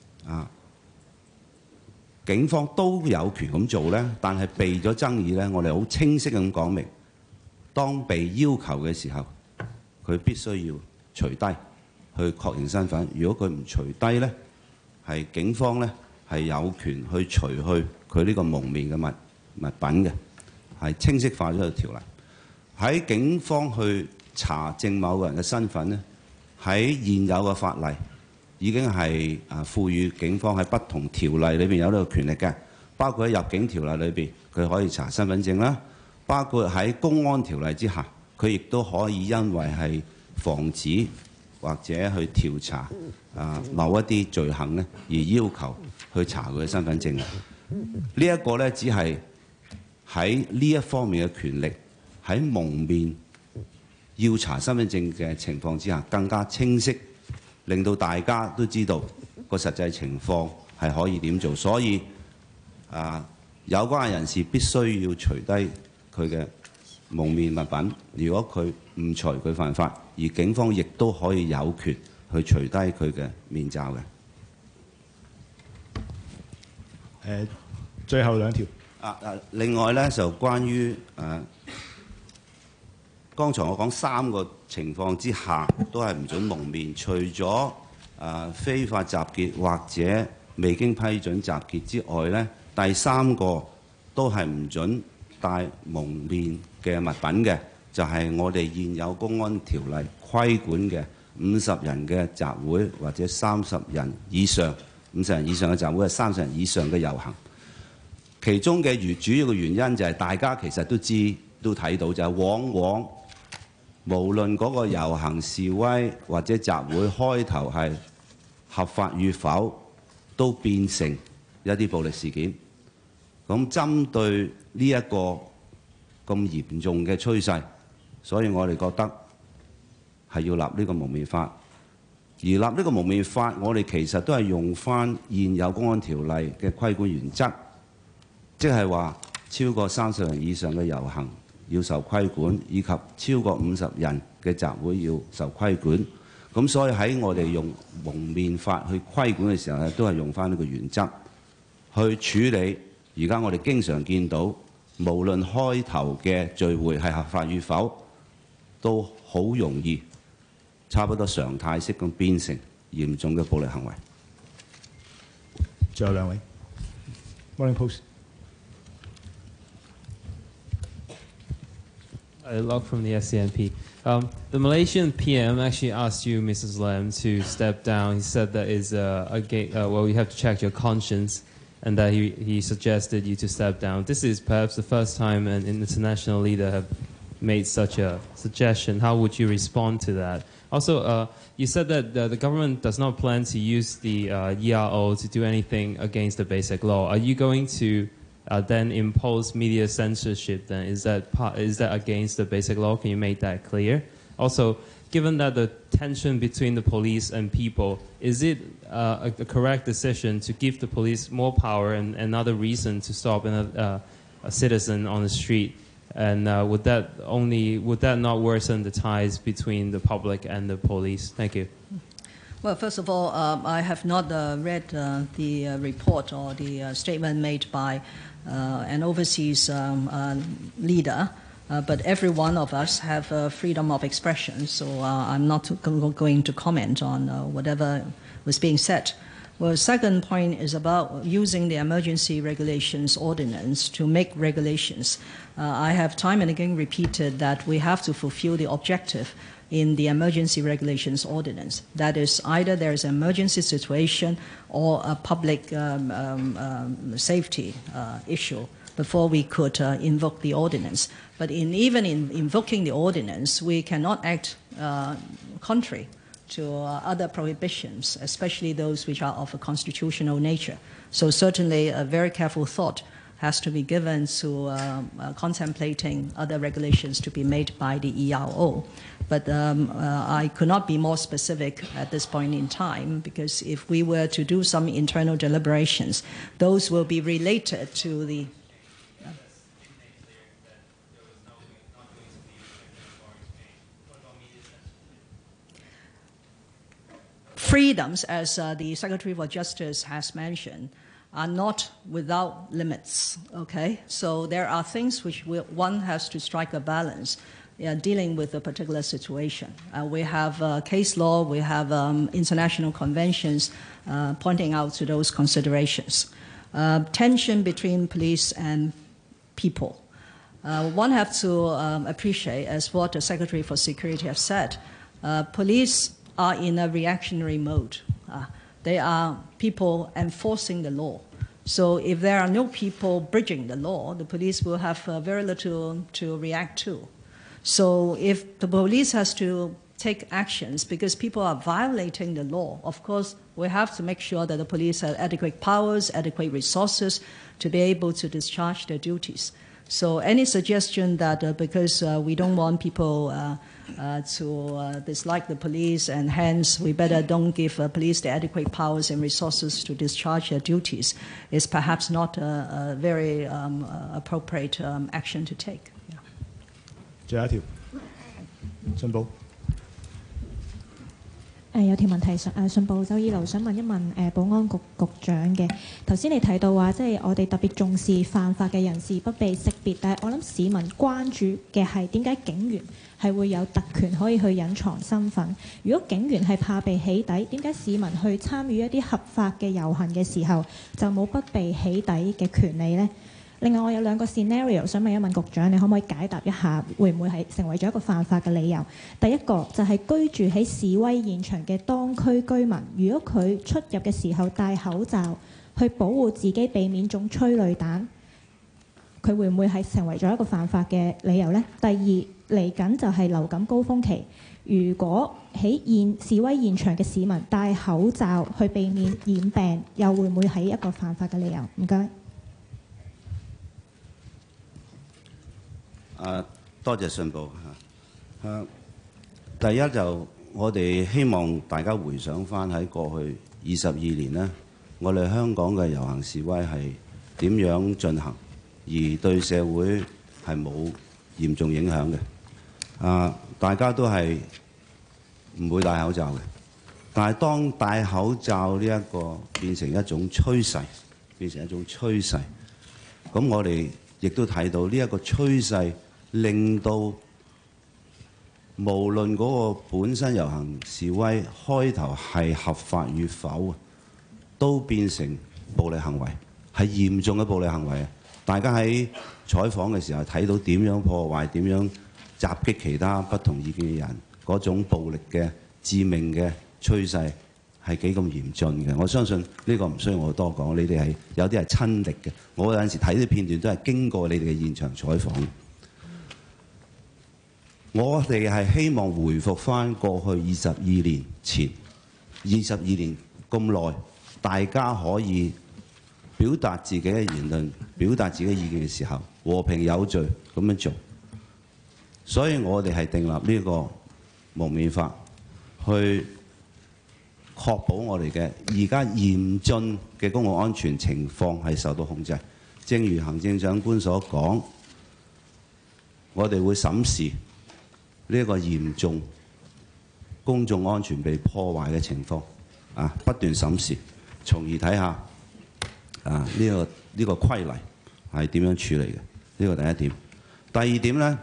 警方都有權咁做咧，但係避咗爭議咧，我哋好清晰咁講明，當被要求嘅時候，佢必須要除低去確認身份。如果佢唔除低咧，係警方咧係有權去除去佢呢個蒙面嘅物品嘅，係清晰化咗個條例。喺警方去查證某個人嘅身份咧，喺現有嘅法例已經係賦予警方喺不同條例裏邊有呢個權力嘅，包括喺入境條例裏邊佢可以查身份證啦，包括喺公安條例之下，佢亦都可以因為係防止或者去調查某一啲罪行咧，而要求去查佢嘅身份證嘅。呢一個咧只係喺呢一方面嘅權力喺蒙面要查身份證嘅情況之下更加清晰，令到大家都知道個實際情況係可以點做。所以有關嘅人士必須要除低佢嘅蒙面物品。如果佢唔除，佢犯法，而警方亦都可以有權去除低佢嘅面罩嘅。 最後兩條。 另外咧就關於剛才我講3個情況之下都係唔准蒙面，除咗非法集結或者未經批准集結之外咧，第3個都係唔准帶蒙面嘅物品嘅，就係我哋現有公安條例規管嘅50人嘅集會或者30人以上，50人以上嘅集會係30人以上嘅遊行。其中嘅主要嘅原因就係大家其實都睇到，就係往往無論嗰個遊行示威或者集會開頭係合法與否，都變成一啲暴力事件。咁針對呢一個咁嚴重嘅趨勢，所以我哋覺得係要立呢個蒙面法。而立呢個蒙面法，我哋其實都係用翻現有公安條例嘅規管原則，即係話超過30人以上嘅遊行要受規管，以及超過50人嘅集會要受規管。咁所以喺我哋用蒙面法去規管嘅時候咧，都係用翻呢個原則去處理。而家我哋經常見到，無論開頭嘅聚會係合法與否，都好容易差不多常態式咁變成嚴重嘅暴力行為。 最後兩位 Morning Post。 Log from the SCMP. The Malaysian PM actually asked you, Mrs. Lam, to step down. He said that is well, you have to check your conscience. and that he suggested you to step down. This is perhaps the first time an international leader have made such a suggestion. How would you respond to that? Also, you said that the government does not plan to use the ERO to do anything against the Basic Law. Are you going to then impose media censorship? Then is that against the Basic Law? Can you make that clear? Also, given that the tension between the police and people, is it a correct decision to give the police more power and another reason to stop a citizen on the street? And would that not worsen the ties between the public and the police? Thank you. Well, first of all, I have not read the report or the statement made by an overseas leader. But every one of us have freedom of expression, so I'm not going to comment on whatever was being said. Well, second point is about using the emergency regulations ordinance to make regulations. I have time and again repeated that we have to fulfill the objective in the emergency regulations ordinance. That is, either there is an emergency situation or a public safety issue before we could invoke the ordinance. But even in invoking the ordinance, we cannot act contrary to other prohibitions, especially those which are of a constitutional nature. So certainly a very careful thought has to be given to contemplating other regulations to be made by the ERO. But I could not be more specific at this point in time, because if we were to do some internal deliberations, those will be related to the freedoms, as the Secretary for Justice has mentioned, are not without limits, okay? So there are things which one has to strike a balance dealing with a particular situation. We have case law, we have international conventions pointing out to those considerations. Tension between police and people. One have to appreciate, as what the Secretary for Security has said, police are in a reactionary mode. They are people enforcing the law. So if there are no people bridging the law, the police will have very little to react to. So if the police has to take actions because people are violating the law, of course, we have to make sure that the police have adequate powers, adequate resources to be able to discharge their duties. So any suggestion that because we don't want people to dislike the police and hence we better don't give police the adequate powers and resources to discharge their duties is perhaps not a very appropriate action to take. 最後一條，信報。 有條問題信報周依露想問一問保安局局長嘅。頭先你提到話，即係我哋特別重視犯法嘅人士不被識別，但係我諗市民關注嘅係點解警員係會有特權可以去隱藏身份？如果警員係怕被起底，點解市民去參與一啲合法嘅遊行嘅時候就冇不被起底嘅權利呢？另外，我有兩個 scenario 想問一問局長，你可唔可以解答一下，會唔會係成為咗一個犯法嘅理由？第一個就係居住喺示威現場嘅當區居民，如果佢出入嘅時候戴口罩去保護自己，避免中催淚彈，佢會唔會係成為咗一個犯法嘅理由呢？第二，嚟緊就係流感高峰期，如果喺示威現場嘅市民戴口罩去避免染病，又會唔會係一個犯法嘅理由？唔該。 多謝信報嚇。第一就我哋希望大家回想翻喺過去22年呢，我哋香港嘅遊行示威係點樣進行，而對社會係冇嚴重影響嘅。大家都係唔會戴口罩嘅，但係當戴口罩呢一個變成一種趨勢，咁我哋亦都睇到呢一個趨勢。令到無論嗰個本身遊行示威開頭係合法與否，都變成暴力行為，係嚴重嘅暴力行為。大家喺採訪嘅時候睇到點樣破壞、點樣襲擊其他不同意見嘅人，嗰種暴力嘅致命嘅趨勢係幾咁嚴峻嘅。我相信呢個唔需要我多講，你哋係有啲係親歷嘅。我有陣時睇啲片段都係經過你哋嘅現場採訪。我哋係希望回復翻過去22年前，22年咁耐，大家可以表達自己嘅言論、表達自己嘅意見嘅時候，和平有序咁樣做。所以我哋係訂立呢個蒙面法，去確保我哋嘅而家嚴峻嘅公共安全情況係受到控制。正如行政長官所講，我哋會審視呢個嚴重公眾安全被破壞嘅情況，不斷審視，從而睇下呢個規例係點樣處理嘅。呢個第一點。第二點呢，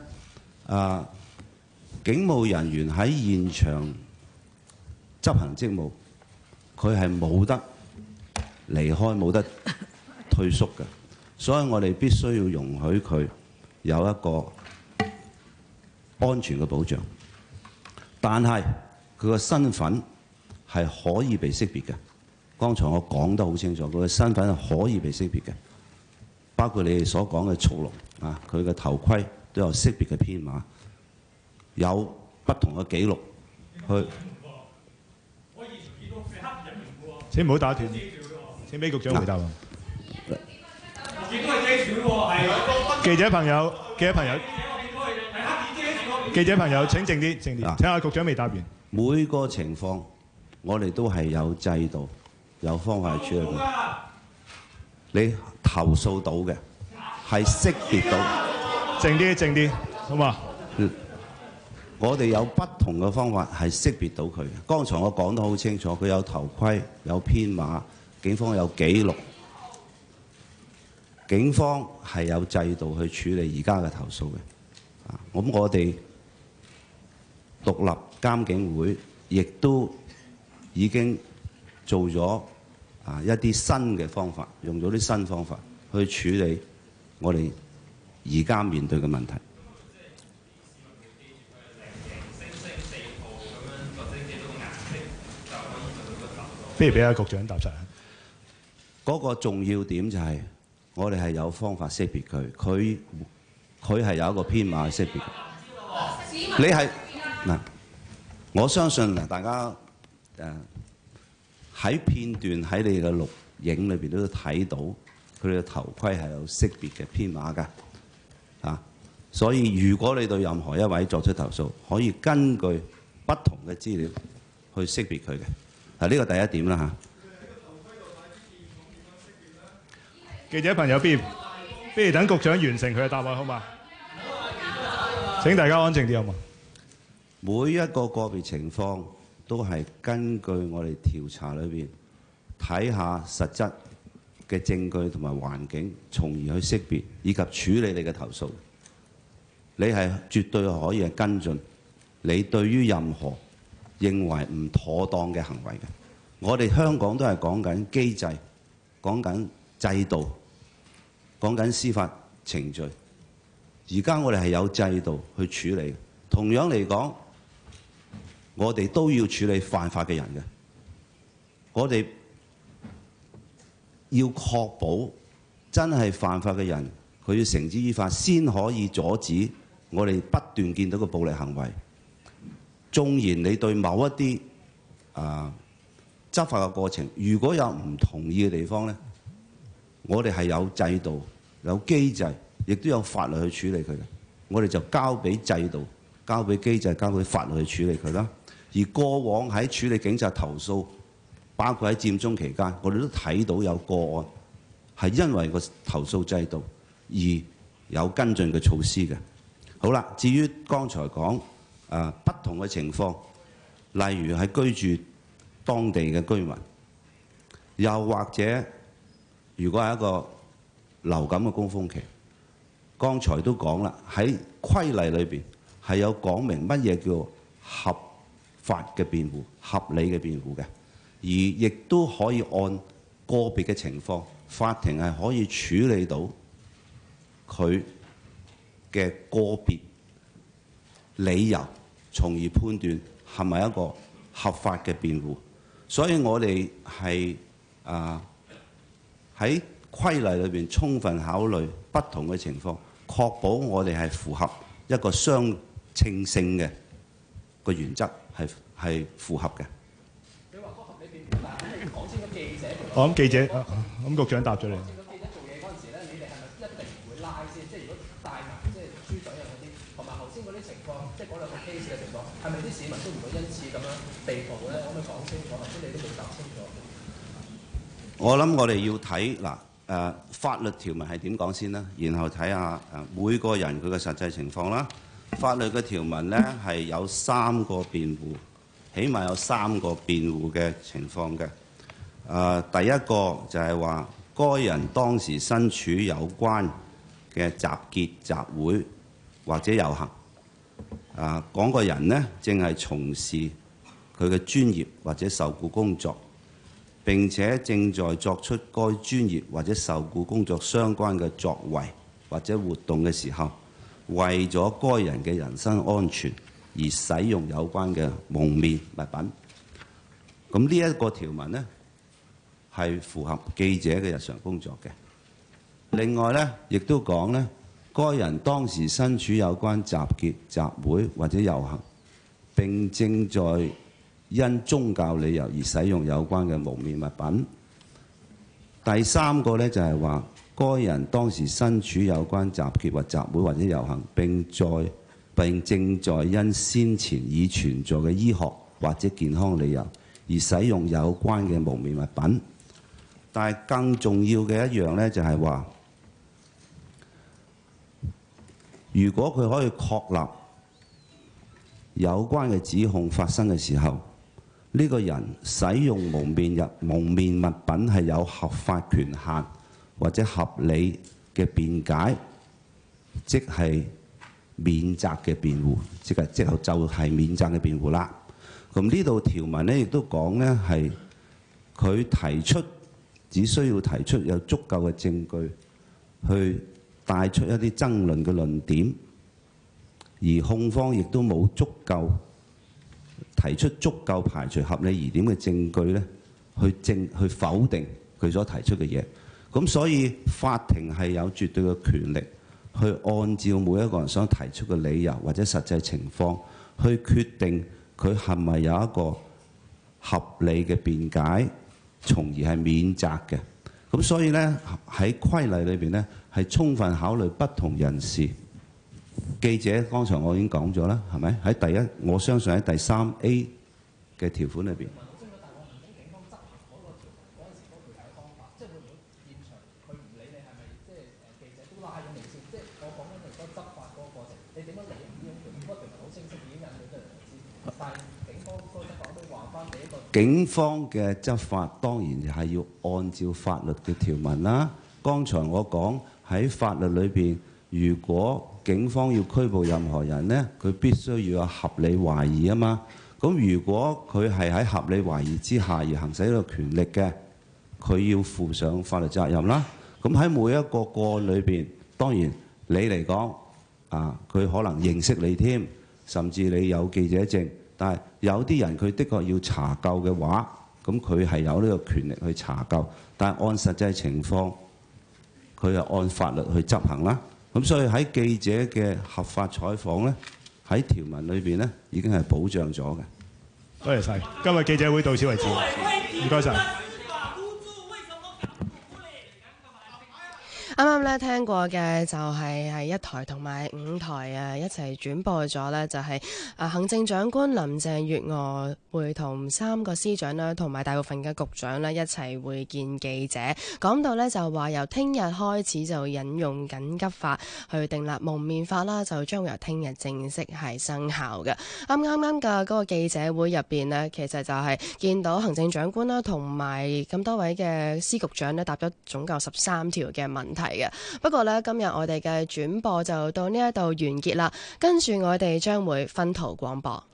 警務人員喺現場執行職務，佢係冇得離開、冇得退縮嘅，所以我哋必須要容許佢有一個安全嘅保障，但係佢個身份係可以被識別嘅。剛才我講得好清楚，佢嘅身份係可以被識別嘅，包括你哋所講嘅速龍佢嘅頭盔都有識別嘅編碼，有不同嘅記錄去。 請唔好打斷，請俾局長回答。記者朋友，請靜啲，靜啲。睇下局長未答完。 每個情況，我哋都係有制度、有方法去處理佢。你投訴到嘅係識別到。 靜啲，好嘛？ 我哋有不同嘅方法係識別到佢嘅。剛才我講得好清楚，佢有頭盔、有編碼，警方有記錄，警方係有制度去處理而家嘅投訴嘅。咁我哋獨立監警會亦都已經做咗一啲新嘅方法，用咗啲新方法去處理我哋而家面對嘅問題。 不如俾阿局長答晒。 嗰個重要點就係我哋係有方法識別佢，佢係有一個編碼去識別。你係嗱，我相信嗱，大家喺片段喺你嘅錄影裏邊都睇到，佢哋嘅頭盔係有識別嘅編碼㗎。所以如果你對任何一位作出投訴，可以根據不同嘅資料去識別佢嘅。呢個第一點啦嚇。 記者朋友，不如等局長完成佢嘅答案好嘛？請大家安靜啲好嘛？ 每一個個別情況都係根據我哋調查裏邊睇下實質嘅證據同埋環境，從而去識別以及處理你嘅投訴。你係絕對可以係跟進你對於任何認為唔妥當嘅行為嘅。我哋香港都係講緊機制，講緊制度，講緊司法程序。而家我哋係有制度去處理。同樣嚟講，我哋都要處理犯法嘅人嘅。我哋要確保真係犯法嘅人，佢要繩之於法，先可以阻止我哋不斷見到嘅暴力行為。縱然你對某一啲執法嘅過程，如果有唔同意嘅地方呢，我哋係有制度、有機制，亦都有法律去處理佢嘅。我哋就交俾制度、交俾機制、交俾法律去處理佢啦。而過往喺處理警察投訴，包括喺佔中期間，我哋都睇到有個案係因為個投訴制度而有跟進嘅措施嘅。好啦，至於剛才講不同嘅情況，例如係居住當地嘅居民，又或者如果係一個流感嘅高峰期，剛才都講啦，喺規例裏邊係有講明乜嘢叫合法嘅辯護、合理嘅辯護嘅，而亦都可以按個別嘅情況，法庭係可以處理到佢嘅個別理由，從而判斷係咪一個合法嘅辯護。 所以我哋係喺規例裏邊充分考慮不同嘅情況，確保我哋係符合一個相稱性嘅個原則，係符合嘅。 你話個合理辯護，但係你講清楚記者。 我諗記者，咁局長答咗你。 記者做嘢嗰陣時咧，你哋係咪一定唔會拉先？即係如果帶埋即係豬嘴啊嗰啲，同埋頭先嗰啲情況，即係嗰兩個 case 嘅情況，係咪啲市民都唔會因此咁樣被捕咧？可唔可以講清楚？頭先你都冇答清楚。 我諗我哋要睇法律條文係點講先啦，然後睇下每個人佢嘅實際情況啦。法律嘅條文呢係有3個辯護，起碼有3個辯護嘅情況嘅。第一個就係話，該人當時身處有關嘅集結、集會或者遊行。講個人呢正係從事佢嘅專業或者受僱工作，並且正在作出該專業或者受僱工作相關嘅作為或者活動嘅時候，為咗該人嘅人身安全而使用有關嘅蒙面物品。咁呢一個條文呢，係符合記者嘅日常工作嘅。另外呢，亦都講呢，該人當時身處有關集結、集會或者遊行，並正在因宗教理由而使用有關嘅蒙面物品。第3個呢，就係話，該人當時身處有關集結或集會或者遊行，並正在因先前已存在嘅醫學或者健康理由而使用有關嘅蒙面物品。但係更重要嘅一樣呢，就係話，如果佢可以確立有關嘅指控發生嘅時候，呢個人使用蒙面物品係有合法權限或者合理嘅辯解，即係免責嘅辯護，即係免責嘅辯護啦。咁呢度條文呢亦都講呢，係佢只需要提出有足夠嘅證據去帶出一啲爭論嘅論點，而控方亦都冇提出足夠排除合理疑點嘅證據咧，去否定佢所提出嘅嘢。咁所以法庭係有絕對嘅權力去按照每一個人想提出嘅理由或者實際情況去決定佢係咪有一個合理嘅辯解，從而係免責嘅。咁所以呢，喺規例裏邊呢，係充分考慮不同人士。記者剛才我已經講咗啦，係咪？喺我相信喺第3A 嘅條款裏邊。警方嘅執法當然係要按照法律嘅條文啦。剛才我講喺法律裏邊，如果警方要拘捕任何人呢，佢必須要有合理懷疑啊嘛。咁如果佢係喺合理懷疑之下而行使呢個權力嘅，佢要負上法律責任啦。咁喺每一個個案裏邊，當然你嚟講佢可能認識你添，甚至你有記者證。但係有啲人佢的確要查究嘅話，咁佢係有呢個權力去查究，但係按實際情況，佢係按法律去執行啦。咁所以喺記者嘅合法採訪呢，喺條文裏邊呢已經係保障咗嘅。 多謝晒，今日記者會到此為止，唔該晒。 啱啱咧聽過嘅就係1台同埋5台一齊轉播咗呢，就係行政長官林鄭月娥會同3個司長啦，同埋大部分嘅局長呢一齊會見記者，講到呢就話由聽日開始就引用緊急法去訂立蒙面法啦，就將會由聽日正式係生效嘅。啱嘅嗰個記者會入邊呢，其實就係見到行政長官啦，同埋咁多位嘅司局長呢，答咗總共13條嘅問題。不過呢，今日我哋嘅轉播就到呢一度完結啦，跟住我哋將會分途廣播。